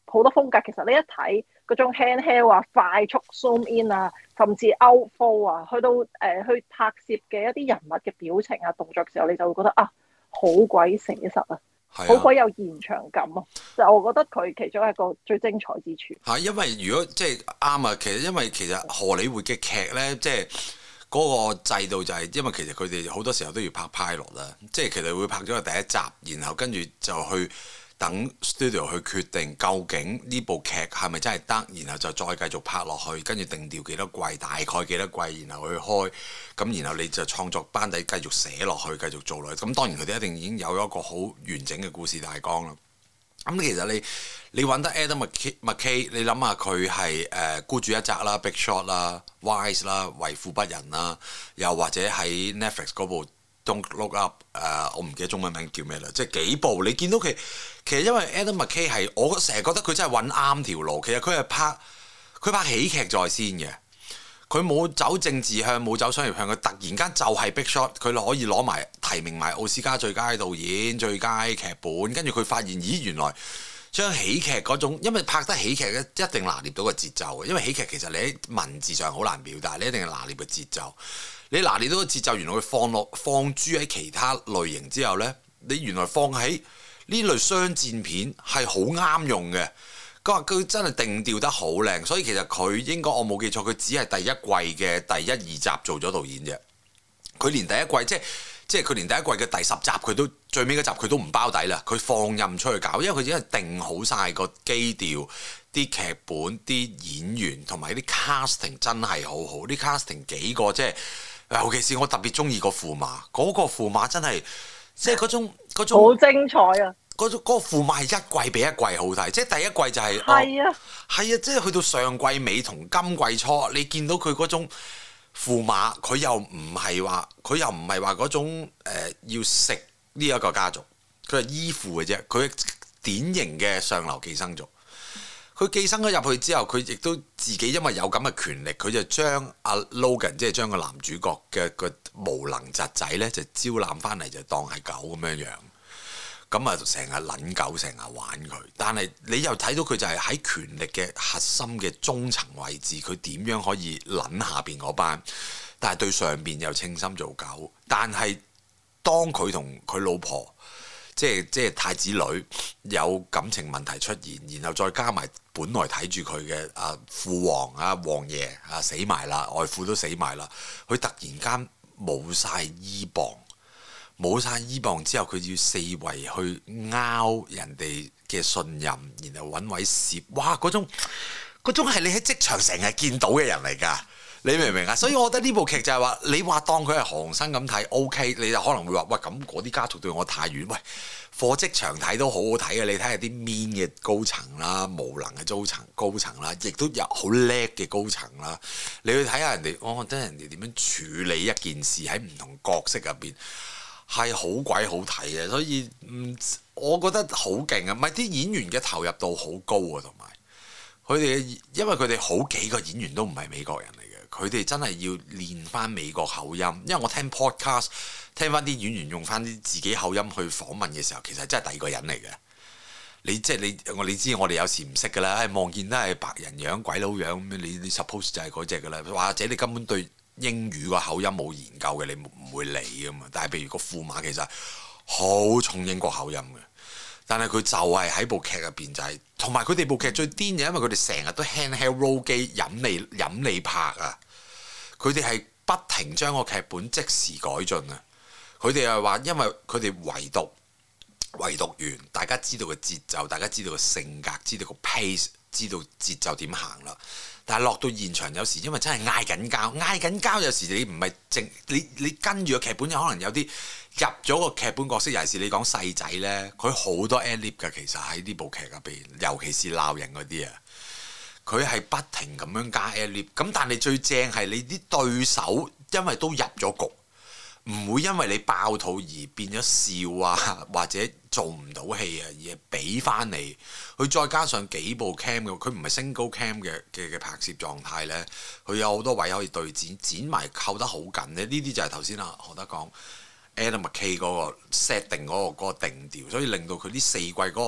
A: 好多風格，其實你一睇嗰種 handheld 啊、快速 zoom in 啊，甚至 outflow 啊，去到誒、呃、去拍攝嘅一啲人物嘅表情啊、動作嘅時候，你就會覺得啊，好鬼寫實啊，好鬼、啊、有現場感啊！就我覺得佢其中一個最精彩之處。
B: 係因為如果即係啱啊，其實因為其實荷里活嘅劇咧，即係嗰個制度就係、是、因為其實佢哋好多時候都要拍 pilot 啦，即係其實會拍咗個第一集，然後跟住就去。等 studio 去決定究竟呢部劇係咪真係得，然後就再繼續拍落去，跟住定調幾多季，大概幾多季，然後去開，咁然後你就創作班底繼續寫落去，繼續做落去。咁當然佢哋一定已經有一個好完整嘅故事大綱啦。咁其實你你揾得 Adam McKay， 你諗下佢係誒孤注一擲啦、Big Shot 啦、Wise 啦、為富不仁啦，又或者喺 Netflix 嗰部。Don't Look Up，誒、uh, 我唔記得中文名叫咩啦，即係幾部你見到佢，其實因為 Adam McKay 係我成日覺得佢真係揾啱條路，其實佢係拍佢拍喜劇在先嘅，佢冇走政治向，冇走商業向，佢突然間就係 Big Shot，佢可以攞埋提名埋奧斯卡最佳導演、最佳劇本，跟住佢發現咦原來將喜劇嗰種，因為拍得喜劇咧一定拿捏到個節奏嘅，因為喜劇其實你喺文字上好難表達，你一定係拿捏個節奏。你拿捏到個節奏，原來佢放落放諸喺其他類型之後呢，你原來放喺呢類商戰片係好啱用嘅。佢話佢真係定調得好靚，所以其實佢應該我冇記錯，佢只係第一季嘅第一二集做咗導演啫。佢連第一季即係即係佢連第一季嘅第十集佢都最尾嗰集佢都唔包底啦，佢放任出去搞，因為佢已經係定好晒個基調。啲劇本、啲演員同埋啲 casting 真係好好，啲 casting 幾個即係，尤其是我特別中意個駙馬，嗰、那個駙馬真係即係嗰種嗰種
A: 好精彩啊！
B: 嗰種嗰、那個駙馬係一季比一季好睇，即係第一季就係
A: 係啊，
B: 係、哦、啊，即係去到上季尾同今季初，你見到佢嗰種駙馬，佢又唔係話佢又唔係話嗰種、呃、要食呢一個家族，佢係依附嘅啫，佢典型嘅上流寄生族。佢寄生咗入去之後，佢亦都自己因為有咁嘅權力，佢就將阿 Logan 即係將個男主角嘅個無能侄仔咧，就招攬翻嚟就當係狗咁樣樣。咁啊，成日撚狗，成日玩佢。但係你又睇到佢就係喺權力嘅核心嘅中層位置，佢點樣可以撚下邊嗰班？但係對上邊又稱心做狗。但係當佢同佢老婆，即係即係太子女有感情問題出現，然後再加埋本來睇住佢嘅啊父王啊王爺啊死埋啦，外父都死埋啦，佢突然間冇晒依傍，冇晒依傍之後，佢要四圍去拗人哋嘅信任，然後揾位攝，哇！嗰種嗰種係你喺職場成日見到嘅人嚟㗎。你明唔明啊？所以我覺得呢部劇就係話，你話當佢係韓生咁睇 OK，你就可能會話喂，咁嗰啲家族對我太遠。喂，貨職場睇都好好睇嘅，你睇下啲 mean 嘅高層啦，無能嘅高層高層啦，亦都有好叻嘅高層啦。你去睇下人哋，我覺得人哋點樣處理一件事喺唔同角色入邊係好鬼好睇嘅。所以嗯，我覺得好勁啊！唔係啲演員嘅投入度好高啊，同埋佢哋因為佢哋好幾個演員都唔係美國人嚟嘅。佢哋真係要練翻美國口音，因為我聽 podcast 聽翻啲演員用翻啲自己口音去訪問嘅時候，其實真係第二個人嚟嘅。你即係你我你知我哋有時唔識㗎啦，望見都係白人樣鬼佬樣咁，你你 suppose 就係嗰隻㗎啦，或者你根本對英語個口音冇研究嘅，你唔會理㗎嘛。但係譬如個駙馬其實好重英國口音嘅。但係佢就係喺部劇入邊就係、是，同埋佢哋部劇最癲嘅，因為佢哋成日都 handheld roll 機飲你飲你拍啊！佢哋係不停將個劇本即時改進啊！佢哋係話，因為佢哋唯獨唯獨完，大家知道個節奏，大家知道個性格，知道個 pace，知道節奏點行啦。但係落到現場，有時因為真係嗌緊交，嗌緊交，有時你唔係淨你你跟住個劇本，有可能有啲入咗個劇本角色，尤其是你講細仔呢，佢好多 ad lib 㗎，其實喺呢部劇入邊，尤其是鬧人嗰啲啊，佢係不停咁樣加 ad lib。咁但係最正係你啲對手，因為都入咗局。唔會因為你爆肚而變咗笑啊，或者做唔到戲啊，而係俾翻你。佢再加上幾部 cam 嘅，佢唔係 single cam 嘅嘅嘅拍攝狀態呢，佢有好多位可以對剪，剪埋扣得好緊咧。呢啲就係頭先啊何德講 Adam McKay 嗰個 set 定嗰個嗰個定調，所以令到佢呢四季嗰個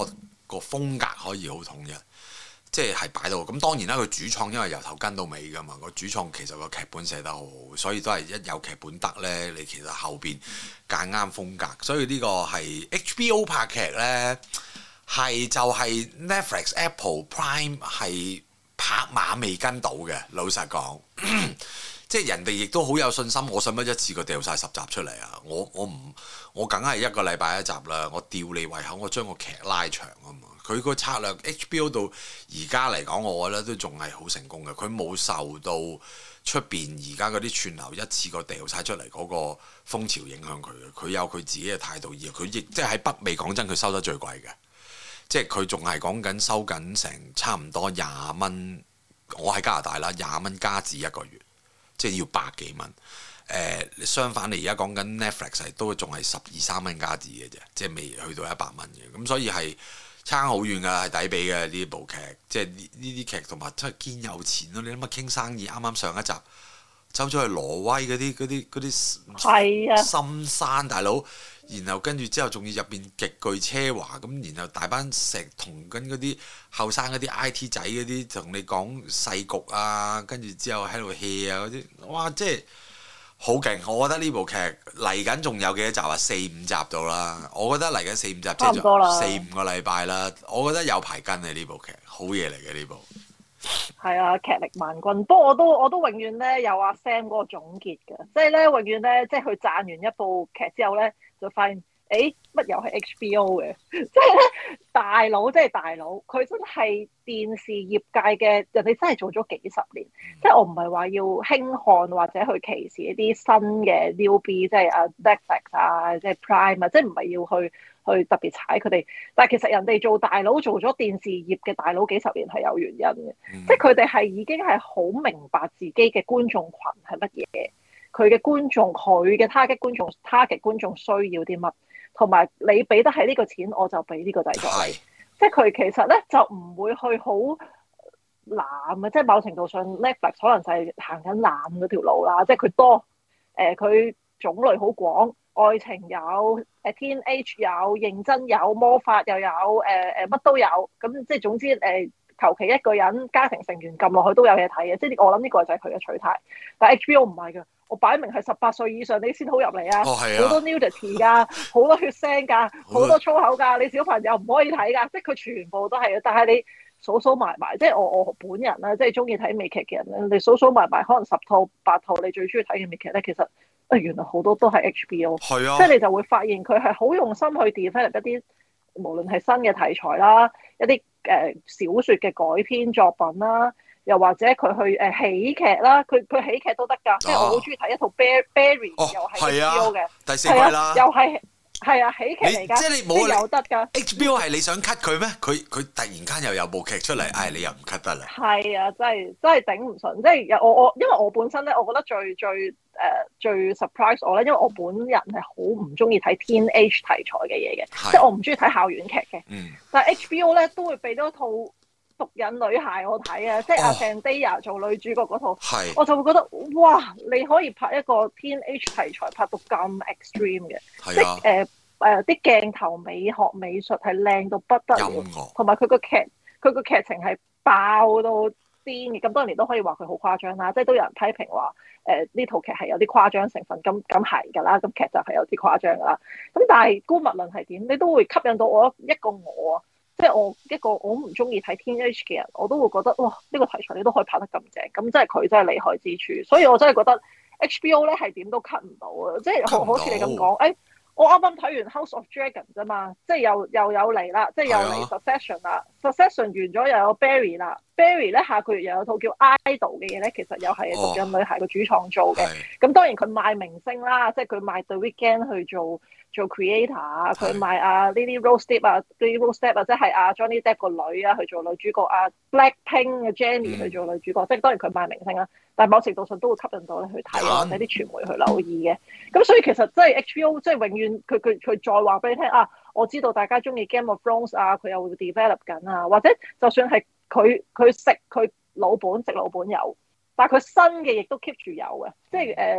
B: 個風格可以好統一。即係擺到咁，當然啦，佢主創因為由頭跟到尾㗎嘛，個主創其實個劇本寫得好好，所以都係一有劇本得呢，你其實後邊揀啱風格，所以呢個係 H B O 拍劇呢，係就係 Netflix、Apple Prime 係拍馬未跟到嘅，老實講，即係人哋亦都好有信心，我使乜一次過掉晒十集出嚟啊？我我唔我梗係一個禮拜一集啦，我吊你胃口，我將個劇拉長啊嘛。佢個策略 H B O 到而家嚟講，我覺得都仲係好成功嘅。佢冇受到出邊而家嗰啲串流一次過掉晒出嚟嗰個風潮影響佢嘅。佢有佢自己嘅態度，而佢亦即係喺北美講真，佢收得最貴嘅。即係佢仲係講緊收緊成差唔多廿蚊。我喺加拿大啦，廿蚊加紙一個月，即係要百幾蚊。誒、呃，相反你而家講緊 Netflix 係都仲係十二三蚊加紙嘅啫，即係未去到一百蚊嘅。咁所以係。差好遠㗎，係抵比嘅呢部劇，即係呢呢啲劇同埋真係堅有錢咯！你諗下傾生意，啱啱上一集走咗去挪威嗰啲嗰啲嗰啲深山大佬，然後跟住之後仲要入邊極具奢華咁，然後大班石同緊嗰啲後生嗰啲 I T 仔嗰啲同你講世局啊，跟住之後喺度 hea 啊嗰啲，哇！即係〜好勁！我覺得呢部劇嚟緊仲有幾多集啊？四五集到啦。我覺得嚟緊四五集即係四五個禮拜啦。我覺得有排跟啊呢部劇，好嘢嚟嘅呢部。
A: 係啊，劇力萬鈞。不過我都我都永遠咧有阿 Sam 嗰個總結嘅，即係咧永遠咧即係佢讚完一部劇之後咧，就發現誒乜又係 H B O 嘅，即係咧大佬即係大佬，佢真係電視業界嘅人哋真係做咗幾十年。即係我唔係話要輕看或者去歧視一啲新嘅 newbie，即係啊 Netflix 啊，即係 Prime 啊，即係唔係要去去特別踩佢哋。但係其實人哋做大佬做咗電視業嘅大佬幾十年係有原因嘅，嗯、即係佢哋係已經係好明白自己嘅觀眾群係乜嘢，佢嘅觀眾佢嘅 target 觀眾 target 觀眾需要啲乜，同埋你俾得起呢個錢，我就俾呢個製作你。是即係佢其實咧就唔會去好濫啊，即係某程度上 Netflix 可能就係行緊濫嗰條路啦，即係佢多誒，佢、呃、種類好廣，愛情有誒 teenage 有認真有魔法又有誒誒乜都有，咁即係總之誒求其一個人家庭成員撳落去都有嘢睇嘅，即係我諗呢個就係佢嘅取態。但係 H B O 唔係㗎，我擺明係十八歲以上你先好入嚟啊，好、哦、多 nudity 㗎，好多血腥㗎，好多粗口㗎，你小朋友唔可以睇㗎，即係佢全部都係嘅，但係你。數數埋埋，即係我我本人啦，即係中意睇美劇嘅人咧，你數數埋埋，可能十套八套你最中意睇嘅美劇咧，其實啊原來好多都係 H B O，係啊，即係你就會發現佢係好用心去 develop 一啲無論係新嘅題材啦，一啲誒、呃、小説嘅改編作品啦，又或者佢去誒、呃、喜劇啦，佢佢喜劇都得㗎，啊、即係我好中意睇一套 Bar Barry、哦、又係 H B O 嘅、啊、第四季啦，又係。係啊，喜劇嚟㗎，即係你冇有得㗎。H B O 係你想 cut 佢咩？佢佢突然間又有部劇出嚟，唉、哎，你又唔 cut 得啦。係啊，真係真係頂唔順。即係我我因為我本身咧，我覺得最最誒、呃、最 surprise 我咧，因為我本人係好唔中意睇 teenage 題材嘅嘢嘅，是即係我唔中意睇校園劇嘅。嗯。但係 H B O 咧都會俾多套毒癮女孩我睇啊，即係阿 Zendaya 做女主角嗰套，是我就會覺得哇，你可以拍一個 teenage 題材拍到咁 extreme 嘅，啊、即係誒誒啲鏡頭美學美術係靚到不得了，同埋佢個劇佢個劇情係爆到癲嘅，咁多年都可以話佢好誇張啦，即係都有人批評話誒呢套劇係有啲誇張成分，咁咁係㗎啦，咁劇就係有啲誇張㗎啦，咁但係姑勿論係點，你都會吸引到我一個我啊。即係我一個我唔中意睇 teenage 嘅人，我都會覺得哇！呢個題材你都可以拍得咁正，咁真係佢真係厲害之處。所以我真係覺得 H B O 咧係點都 cut 唔到啊！即係好似你咁講，誒我啱啱睇完 House of Dragon 啫嘛，即係又又有嚟啦，即係又嚟 Succession 啦 ，Succession 完咗又有 Barry 啦 ，Barry 咧下個月又有套叫 Idol 嘅嘢咧，其實又係毒癮女孩個主創做嘅。咁當然佢賣明星啦，即係佢賣 The Weeknd 去做。做 creator 啊，佢賣啊 Lily Rose Depp 啊 Lily Rose Depp 啊，即係阿 Johnny Depp 個女啊去做女主角啊 Blackpink 嘅 Jennie 去做女主角，嗯、即係當然佢賣明星啦，但係某程度上都會吸引到你去睇啊，或者啲傳媒去留意嘅。咁所以其實即係 H B O 即係永遠佢佢佢再話俾你聽啊，我知道大家中意 Game of Thrones 啊，佢又會 develop 緊啊，或者就算係佢佢食佢老本食老本有，但係佢新嘅亦都 keep 住有嘅，即係誒。呃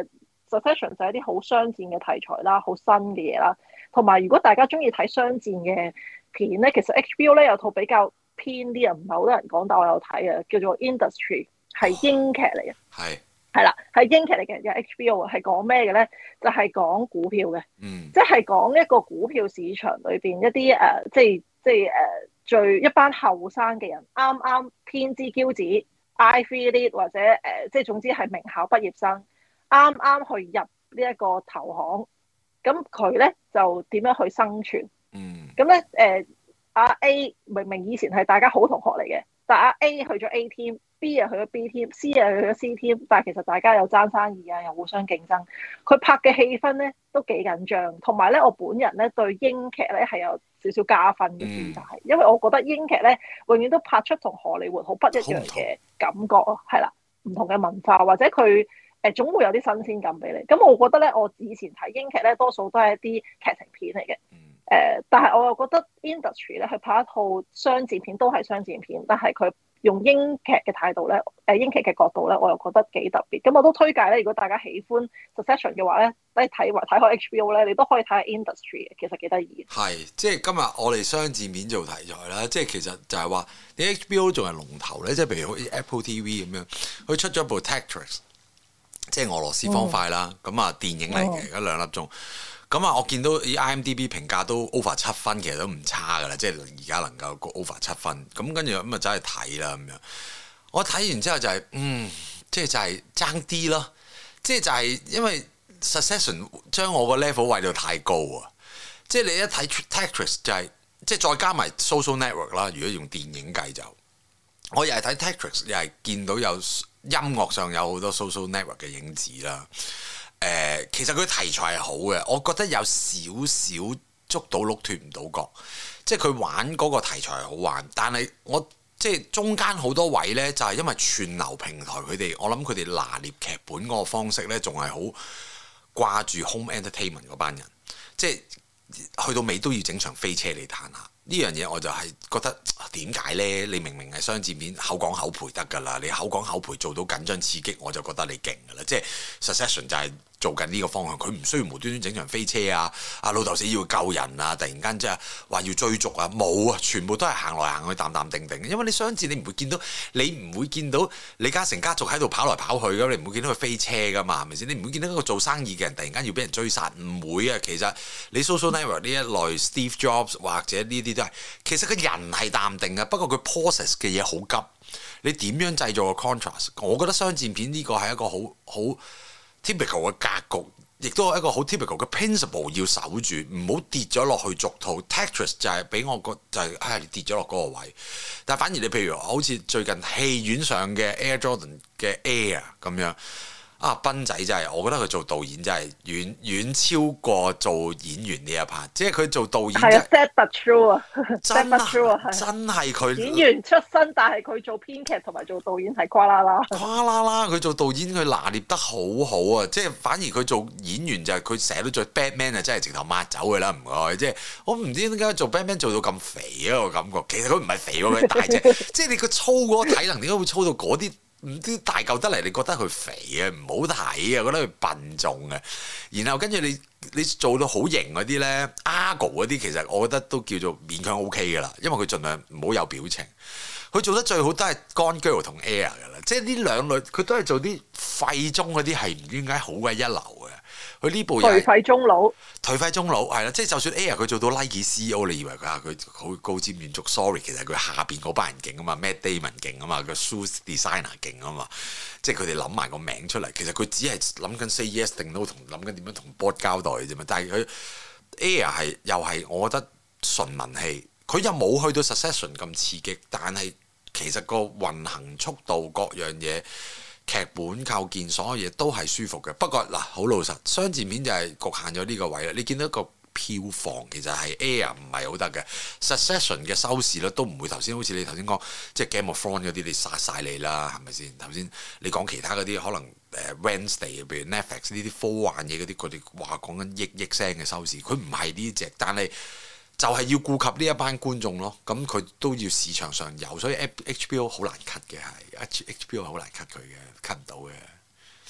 A: Succession 就係一啲好商戰嘅題材啦，好新嘅嘢啦。同埋如果大家中意睇商戰嘅片咧，其實 H B O 咧有套比較偏啲啊，唔係好多人講，但我有睇啊，叫做 Industry， 係英劇嚟嘅。係係啦，係英劇嚟嘅，有 H B O 係講咩嘅咧？就係、是、講股票嘅，嗯、即係講一個股票市場裏邊一啲誒、呃，即係即係誒，最、呃、一班後生嘅人，啱啱天之驕子 Ivy League 或者誒、呃，即係總之係名校畢業生，啱啱去入呢一個投行，咁佢咧就點樣去生存？咁咧誒，阿、呃、A 明明以前係大家好同學嚟嘅，但阿 A 去咗 A team。B 又去咗 B team，C 又去咗 C team， 但係其實大家又爭生意啊，又互相競爭。佢拍嘅氣氛咧都幾緊張，同埋咧我本人咧對英劇咧係有少少加分嘅點解？嗯、因為我覺得英劇咧永遠都拍出同荷里活好不一樣嘅感覺咯，係啦，唔同嘅文化或者佢誒、呃、總會有啲新鮮感俾你。咁我覺得咧，我以前睇英劇咧多數都係一啲劇情片嚟嘅，誒、呃，但係我又覺得 Industry 咧去拍一套商戰片都係商戰片，但係佢用英劇嘅態度咧，誒英劇嘅角度咧，我又覺得幾特別。咁我都推介咧，如果大家喜歡 Succession 嘅話咧，你睇埋睇開 H B O 咧，你都可以睇下 Industry 嘅，其實幾得意。
B: 係，即係今日我哋商戰片做題材啦，即係其實就係話你 H B O 仲係龍頭咧，即係譬如好似 Apple T V 咁樣，佢出咗部 Tetris，即係俄羅斯方塊啦，咁啊、嗯、電影嚟嘅，嗰兩粒鐘。咁啊，我見到以 IMDB 評價都 over 七分，其實都唔差噶啦，即係而家能夠 over 七分。咁跟住咁啊，走去睇啦咁樣。我睇完之後就係、是，嗯，即係就係爭啲咯。即係就係因為 Succession 將我個 level 位到太高啊。即係你一睇 Tetris 就係、是，即係再加埋 Social Network 啦。如果用電影計就，我又係睇 Tetris，又係見到有音樂上有好多 Social Network 嘅影子啦。誒、呃，其實佢題材係好嘅，我覺得有少少捉到鹿脫唔到角，即係佢玩嗰個題材係好玩，但係我即係中間好多位呢，就係、是、因為串流平台佢哋，我諗佢哋拿捏劇本嗰個方式呢，仲係好掛住 home entertainment 嗰班人，即係去到尾都要整場飛車嚟彈下。呢樣嘢我就係覺得點解呢？你明明係商戰片，口講口賠得㗎啦，你口講口賠做到緊張刺激，我就覺得你勁㗎啦。即係 Succession 就係、是。做緊呢個方向，佢唔需要無端端整場飛車啊！阿老豆死要救人啊！突然間即係話要追逐啊！冇啊！全部都係行來行去淡淡定定。因為你商戰你唔會見到，你唔會見到李嘉誠家族喺度跑來跑去㗎，你唔會見到佢飛車噶嘛？係咪先？你唔會見到一個做生意嘅人突然間要俾人追殺，唔會啊！其實你 Social Network 呢一類 Steve Jobs 或者呢啲都係，其實個人係淡定嘅，不過佢 process 嘅嘢好急。你點樣製造個 contrast？我覺得商戰片呢個係一個好好。typical 嘅格局，亦都係一個好 typical 嘅 principle 要守住，唔好跌咗落去俗套。Tetris 就係俾我覺就係、是、唉、哎、跌咗落嗰個位，但係反而你譬如好似最近戲院上嘅 Air Jordan 嘅 Air 咁樣。啊，斌仔真係，我覺得佢做導演真係遠遠超過做演員呢一 part，即係佢做導演係、就是、
A: 啊 sad but true 啊，
B: 真係真係佢
A: 演員出身，但係佢做編劇同埋做導演係跨啦啦，
B: 跨啦啦，佢做導演佢拿捏得好好啊！即係反而佢做演員就係佢成日都做 Batman 啊，真係直頭抹走佢啦，唔該！即係我唔知點解做 Batman 做到咁肥啊個感覺，其實佢唔係肥喎，佢大隻，即係你個粗嗰個體能點解會粗到嗰啲？唔知大嚿得嚟，你覺得佢肥啊，唔好睇啊，覺得佢笨重啊。然後跟住你你做到好型嗰啲咧，Argo 嗰啲其實我覺得都叫做勉強 OK 噶啦，因為佢盡量唔好有表情。佢做得最好都係 Gone Girl 同 Air 噶啦，即係呢兩類佢都係做啲廢中嗰啲係唔知點解好鬼一流嘅。佢呢部
A: 頹廢中佬，
B: 頹廢中佬係啦，即係就算 Air 佢做到 Nike C E O， 你以為佢啊佢好高瞻遠矚 ，sorry， 其實佢下邊嗰班人勁啊嘛 ，Matt Damon 勁啊嘛，個 shoes designer 勁啊嘛，即係佢哋諗埋個名出嚟，其實佢只係諗緊 say yes 定 no 同諗緊點樣同 board 交代嘅啫嘛，但係佢 Air 係又係我覺得純文戲，佢又冇去到 Succession 咁刺激，但係其實個運行速度各樣嘢。劇本構建所有嘢都係舒服嘅，不過嗱好老實，商戰片就係局限咗呢個位啦。你見到一個票房其實係 Air 唔係好得嘅 ，Succession 嘅收視率都唔會頭先好似你頭先講，即係 Game of Thrones 嗰啲你殺晒你啦，係咪先？頭先你講其他嗰啲可能誒 Wednesday，譬如 Netflix 呢啲科幻嘢嗰啲，佢哋話講緊億億聲嘅收視，佢唔係呢隻，但係就係要顧及呢一班觀眾咯。咁佢都要市場上有，所以 H B O 好難 cut 嘅係，H B O 好難 cut 佢嘅。cut 唔到嘅。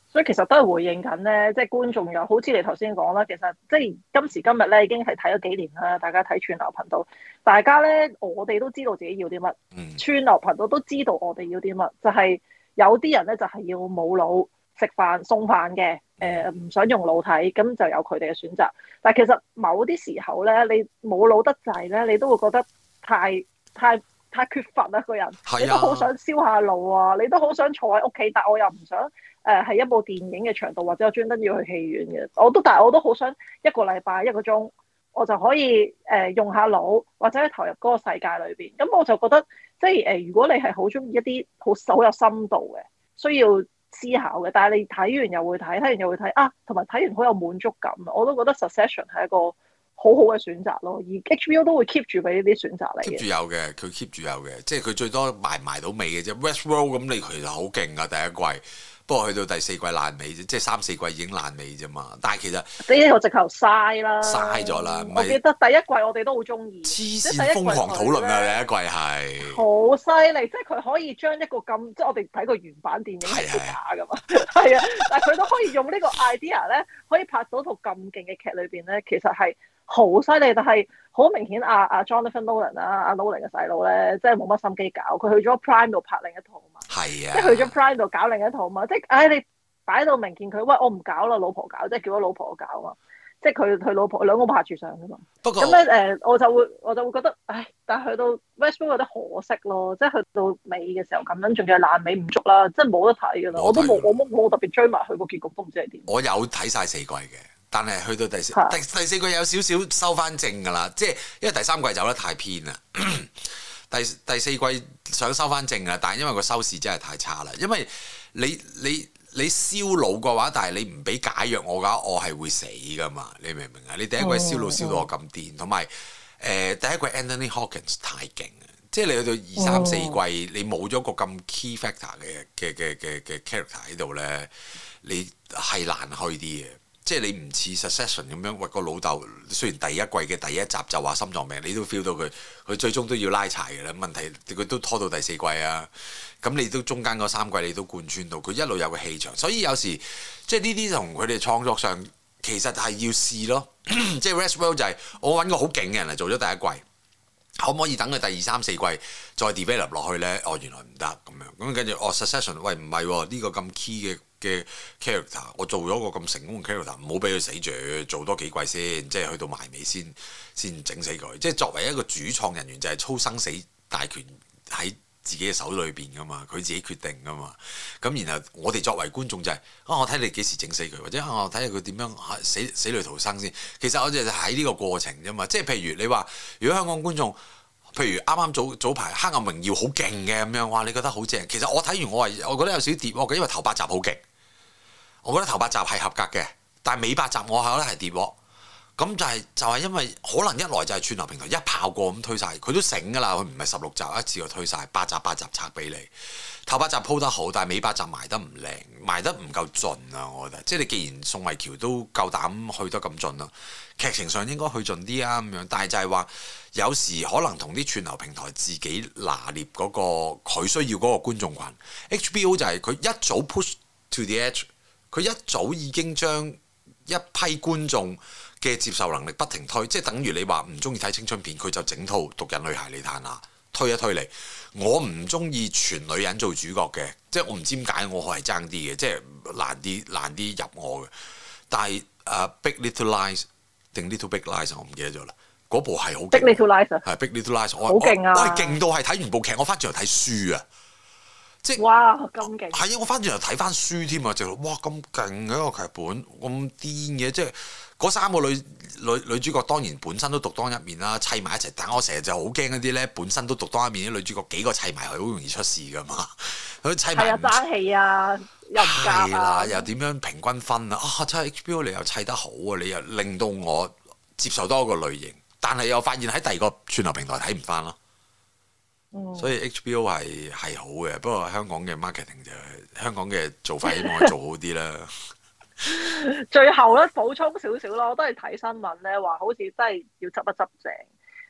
A: 所以其實都係回應緊咧，即係觀眾又好似你頭先講啦，其實即係今時今日咧已經係睇咗幾年啦，大家睇串流頻道，大家咧我哋都知道自己要啲乜，
B: 嗯、
A: 串流頻道都知道我哋要啲乜，就係、是、有啲人咧就係要冇腦食飯送飯嘅，誒、呃、唔想用腦睇，咁就有佢哋嘅選擇。但係其實某啲時候咧，你冇腦得滯咧，你都會覺得太太太缺乏啦個人，
B: 啊、
A: 你都好想燒下腦啊，你都好想坐喺屋企，但我又唔想。誒係、呃、一部電影嘅長度，或者我專登要去戲院嘅，我都但係我都好想一個禮拜一個鐘，我就可以誒、呃、用下腦，或者投入嗰個世界裏邊。咁我就覺得，即係誒、呃，如果你係好中意一啲好好有深度嘅，需要思考嘅，但係你睇完又會睇，睇完又會睇啊，同埋睇完好有滿足感，我都覺得 Succession 係一個好好嘅選擇咯。而 H B O 都會 keep 住俾呢啲選擇嚟嘅。keep
B: 住有嘅，佢 keep 住有嘅，即係佢最多埋埋到尾嘅啫。Westworld 咁你其實好勁啊，第一季。不過去到第四季爛尾啫，即係三四季已經爛尾啫嘛。但係其實
A: 呢個直頭嘥啦，
B: 嘥咗啦。
A: 我記得第一季我哋都好中意，
B: 黐線瘋狂討論啊！第一季係
A: 好犀利，即係佢可以將一個咁，即係我哋睇個原版電影係假噶嘛，係啊，但係佢都可以用呢個 idea 咧，可以拍到套咁勁嘅劇裏邊咧，其實係好犀利。但係好明顯，阿阿 Jonathan Nolan 啦，阿 Nolan 嘅細佬咧，即係冇乜心機搞，佢去咗 Prime 度拍另一套嘛，
B: 係啊，
A: 即係去咗 Prime 度搞另一套嘛，即係唉，你擺到明見佢，喂，我唔搞啦，老婆搞，即係叫咗老婆搞啊嘛，即係佢佢老婆兩個拍住上噶嘛。不過咁咧誒，我就會我就會覺得，唉，但係去到 Westworld 有啲可惜咯，即係去到尾嘅時候咁樣，仲要爛尾唔足啦，即係冇得睇噶啦，我都冇我冇冇特別追埋佢個結局，都唔知係點。
B: 我有睇晒四季嘅。但係去到第四第第四季有少少收翻正㗎啦，即係因為第三季走得太偏啦。第第四季想收翻正啊，但係因為個收視真係太差啦。因為你你你燒腦嘅話，但係你唔俾解藥我嘅話，我係會死㗎嘛。你明唔明啊？你第一季燒腦燒到我咁癲，同埋誒第一季 Anthony Hopkins 太勁啊！即係你去到二三四季，哦、你冇咗個咁 key factor 嘅嘅嘅嘅嘅 character 喺度咧，你係難去啲嘅。即係你唔似 Succession 咁樣，喂個老豆雖然第一季嘅第一集就話心臟病，你都 feel 到佢，佢最終都要拉柴嘅啦。問題佢都拖到第四季啊，咁你都中間嗰三季你都貫穿到，佢一路有個氣場。所以有時即係呢啲同佢哋創作上其實係要試咯。即係 Westworld 就係我揾個好勁嘅人嚟做咗第一季，可唔可以等佢第二三四季再 develop 落去咧？哦，原來唔得咁樣，咁跟住哦 Succession，喂唔係喎，呢個咁 key 嘅嘅 character，我做咗個咁成功嘅 character，唔好俾佢死住，做多幾季先，即係去到埋尾先先整死佢。即係作為一個主創人員，就係操生死大權喺自己嘅手裏邊噶嘛，佢自己決定噶嘛。咁然後我哋作為觀眾就係、是、啊，我睇你幾時整死佢，或者啊，我睇下佢點樣死死裏逃生先。其實我哋就喺呢個過程啫嘛。即係譬如你話，如果香港觀眾，譬如啱啱早早排《黑暗榮耀》好勁嘅咁樣，哇！你覺得好正。其實我睇完我係我覺得有少少跌喎，因為頭八集好勁。我覺得頭八集係合格嘅，但係尾八集我係覺得係跌喎。咁就係、是、就係、是、因為可能一來就係串流平台一炮過咁推晒，佢都醒㗎啦。佢唔係十六集一次過推晒，八集八集拆俾你。頭八集鋪得好，但係尾八集埋得唔靚，埋得唔夠盡啊！我覺得，即係你既然宋慧喬都夠膽去得咁盡啦，劇情上應該去盡啲啊咁樣。但係就係話有時可能同啲串流平台自己拿捏嗰、那個佢需要嗰個觀眾群。H B O 就係佢一早 push to the edge。佢一早已經將一批觀眾嘅接受能力不停推，即係等於你話唔中意睇青春片，佢就整套《毒癮女孩》你睇下，推一推你。我唔中意全女人做主角嘅，即係我唔知點解我係爭啲嘅，即係難啲難啲入我嘅。但係誒、uh, Big Little Lies 定 Little Big Lies 我唔記得咗啦，嗰部係好勁。
A: Big Little Lies 係
B: Big Little Lies，我
A: 好勁啊！
B: 我係勁到係睇完部劇，我翻轉頭睇書啊！即係
A: 哇咁勁！
B: 係啊！我翻轉頭睇翻書添啊！就哇咁勁嘅一個劇本，咁癲嘅，即係嗰三個女女女主角當然本身都獨當一面啦，砌埋一齊。但我成日就好驚嗰啲咧，本身都獨當一面啲女主角幾個砌埋係好容易出事噶嘛。佢砌埋係啊，
A: 爭氣啊，又唔夾啊，
B: 又點樣平均分啊？啊，真係 H B O 你又砌得好啊！你又令到我接受多個類型，但係又發現喺第二個串流平台睇唔翻咯。所以 H B O 係係好嘅，不過香港嘅 marketing 就係、香港嘅做法希望做好啲啦。
A: 最後咧補充少少咯，我都係睇新聞咧話，好似真係要執一執正。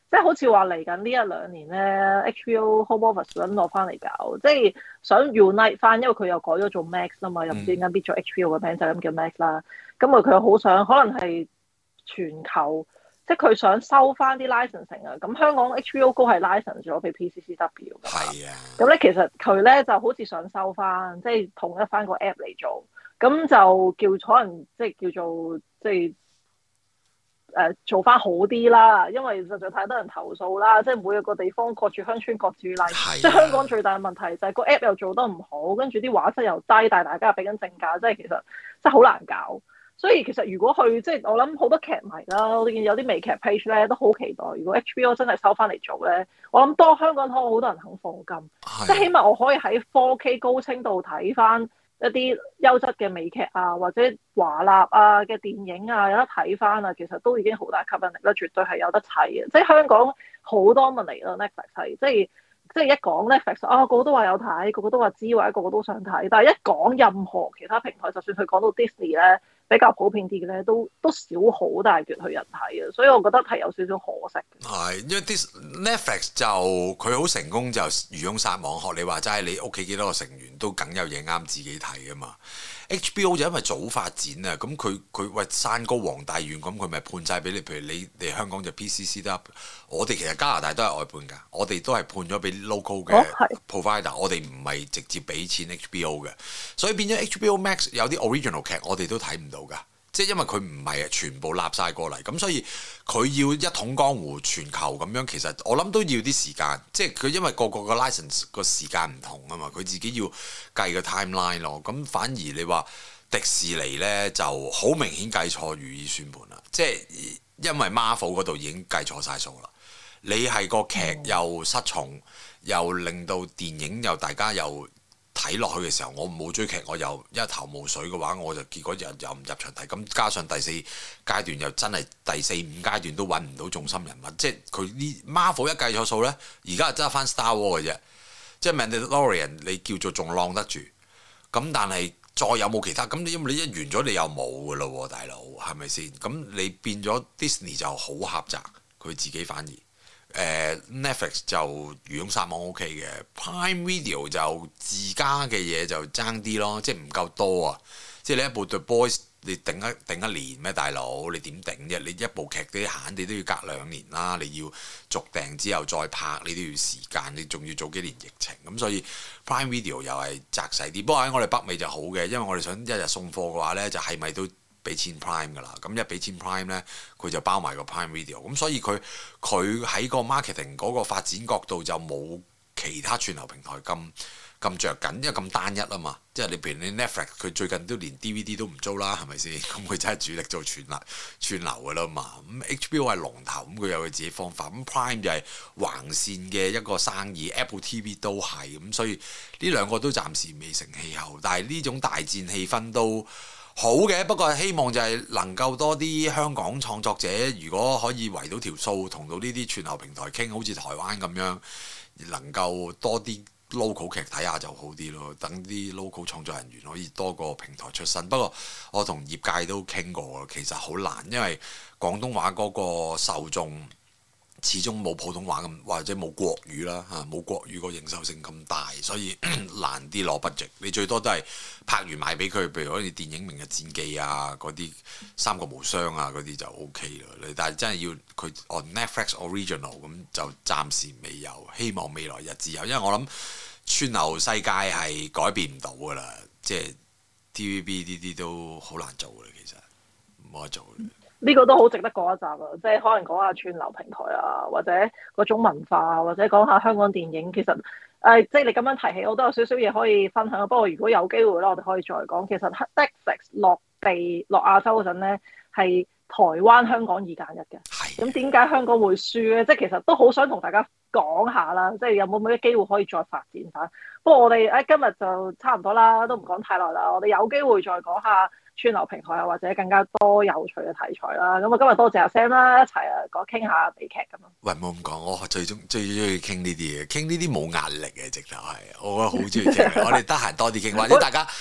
A: 即係好似話嚟緊呢一兩年咧 ，H B O Home Office 想攞翻嚟搞，即係想 unite 翻，因為佢又改咗做 Max 啊嘛，又唔知點解搣咗 H B O 嘅名就咁叫 Max 啦。咁啊，佢又好想可能係全球，即係佢想收翻啲 licensing 啊。咁香港 H B O Go 係 license 咗俾 P C C W 㗎嘛。係啊。咁咧其實佢咧就好似想收翻，即係統一翻個 app 嚟做，咁就叫可能即係叫做即係。誒、呃、做翻好啲啦，因為實在太多人投訴啦，即係每一個地方各處鄉村各處例，啊、即係香港最大嘅問題就係個 app 又做得唔好，跟住啲畫質又低，但係大家又俾緊正價，即係其實真係好難搞。所以其實如果去即係我諗好多劇迷啦，我見有啲微劇 page 咧都好期待，如果 H B O 真係收翻嚟做咧，我諗多香港可好多人肯放金，啊、即係起碼我可以喺 four K 高清度睇翻一啲優質嘅美劇啊，或者華納啊嘅電影啊，有得睇翻啊，其實都已經好大吸引力啦，絕對係有得睇嘅。即係香港好多問題咯 Netflix 係，即係即係一講 Netflix 啊，個個都話有睇，個個都話知，或者個個都想睇。但係一講任何其他平台，就算佢講到 Disney 咧，比較普遍啲嘅咧，都都少好大橛去人睇啊，所以我覺得係有少少可惜。
B: 係，因為啲 Netflix 就佢好成功，就漁翁撒網，學你話齋，你屋企幾多個成員都梗有嘢啱自己睇啊嘛。H B O 就因為早發展啊，咁佢佢喂山高皇帝遠，咁佢咪判晒俾你。譬如你哋香港就 P C C 得，我哋其實加拿大都係外判㗎，我哋都係判咗俾 local 嘅 provider，、哦、我哋唔係直接俾錢 H B O 嘅，所以變咗 H B O Max 有啲 original 劇我哋都睇唔到㗎。即係因為佢唔係全部立晒過嚟，咁所以佢要一統江湖全球咁樣，其實我諗都要啲時間。即係佢因為個個個 license 個時間唔同啊嘛，佢自己要計個 timeline 咯。咁反而你話迪士尼呢就好明顯計錯如意算盤啦。即係因為 Marvel 嗰度已經計錯晒數啦。你係個劇又失重，又令到電影又大家又睇落去嘅時候，我冇追劇，我又一頭霧水嘅話，我就結果又又唔入場睇。咁加上第四階段又真係第四五階段都揾唔到重心人物，即係佢呢 Marvel 一計錯數呢，而家就得翻 Star Wars 嘅啫。即係 Mandalorian 你叫做仲晾得住，咁但係再有冇其他？咁你因為你一完咗你又冇㗎咯喎，大佬係咪先？咁你變咗 Disney 就好狹窄，佢自己反而。Uh, Netflix 就漁翁撒網 OK 嘅 Prime Video 就自家嘅嘢就爭啲咯，即係唔夠多啊！即係你一部 The Boys 你頂一頂一年咩大佬？你點頂啫？你一部劇啲閒你都要隔兩年啦，你要續訂之後再拍，你都要時間，你仲要早幾年疫情咁，所以 Prime Video 又係窄細啲。不過喺我哋北美就好嘅，因為我哋想一日送貨嘅話呢，就係咪都俾錢 Prime 㗎啦，咁一俾錢 Prime 呢，佢就包埋個 Prime Video，咁所以佢佢喺個 marketing 嗰個發展角度就冇其他串流平台咁咁著緊，因為咁單一啊嘛。即係你譬如你 Netflix，佢最近都連 D V D 都唔租啦，係咪先？咁佢真係主力做串流串流㗎啦嘛。咁 H B O 係龍頭，咁佢有佢自己方法。咁 Prime 就係橫線嘅一個生意 ，Apple T V 都係咁，所以呢兩個都暫時未成氣候，但係呢種大戰氣氛都好嘅，不過希望就係能夠多啲香港創作者，如果可以圍到條數，同到呢啲串流平台傾，好似台灣咁樣，能夠多啲 local 劇睇下就好啲咯。等啲 local 創作人員可以多個平台出身。不過我同業界都傾過，其實好難，因為廣東話嗰個受眾始終冇普通話咁，或者冇國語啦嚇，冇國語個認受性咁大，所以難啲攞 budget。你最多都係拍完賣俾佢，譬如好似電影《明日戰記》啊，嗰啲《三國無雙》啊，嗰啲就 O K 啦。但係真係要佢 on Netflix original 咁就暫時未有，希望未來日子有。因為我諗串流世界係改變唔到㗎啦，即係 T V B 呢啲都好難做嘅，其實冇得做嘅。
A: 呢個都好值得講一集啊！即係可能講下串流平台啊，或者嗰種文化，或者講下香港電影。其實誒、呃，即係你咁樣提起，我都有少少嘢可以分享。不過如果有機會咧，我哋可以再講。其實 Netflix 落地落亞洲嗰陣咧，係台灣、香港二揀一嘅。咁點解香港會輸咧？即係其實都好想同大家講下啦。即係有冇咩機會可以再發展翻？不過我哋誒今日就差唔多啦，都唔講太耐啦。我哋有機會再講下串流平台啊，或者更加多有趣嘅題材啦。咁啊，今日多謝阿 Sam 啦，一齊啊講傾下美劇咁啊。
B: 喂，冇咁講，我最中最中意傾呢啲嘢，傾呢啲冇壓力嘅，直頭係，我覺得好中意傾。我哋得閒多啲傾，或者大家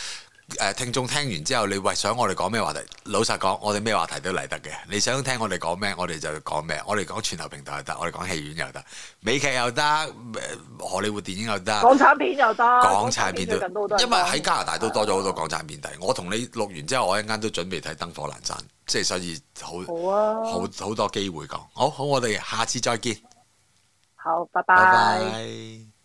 B: 誒聽眾聽完之後，你喂想我哋講咩話題？老實講，我哋咩話題都嚟得嘅。你想聽我哋講咩，我哋就講咩。我哋講全球平台又得，我哋講戲院又得，美劇又得，荷里活電影又得，
A: 港產片又得，
B: 港產片都，
A: 都
B: 因為喺加拿大都多咗好多港產片睇。我同你錄完之後，我一陣間都準備睇《燈火闌珊》，即係所以好
A: 好啊，
B: 好好多機會講。好好，我哋下次再見。
A: 好，拜
B: 拜
A: 拜。
B: 拜。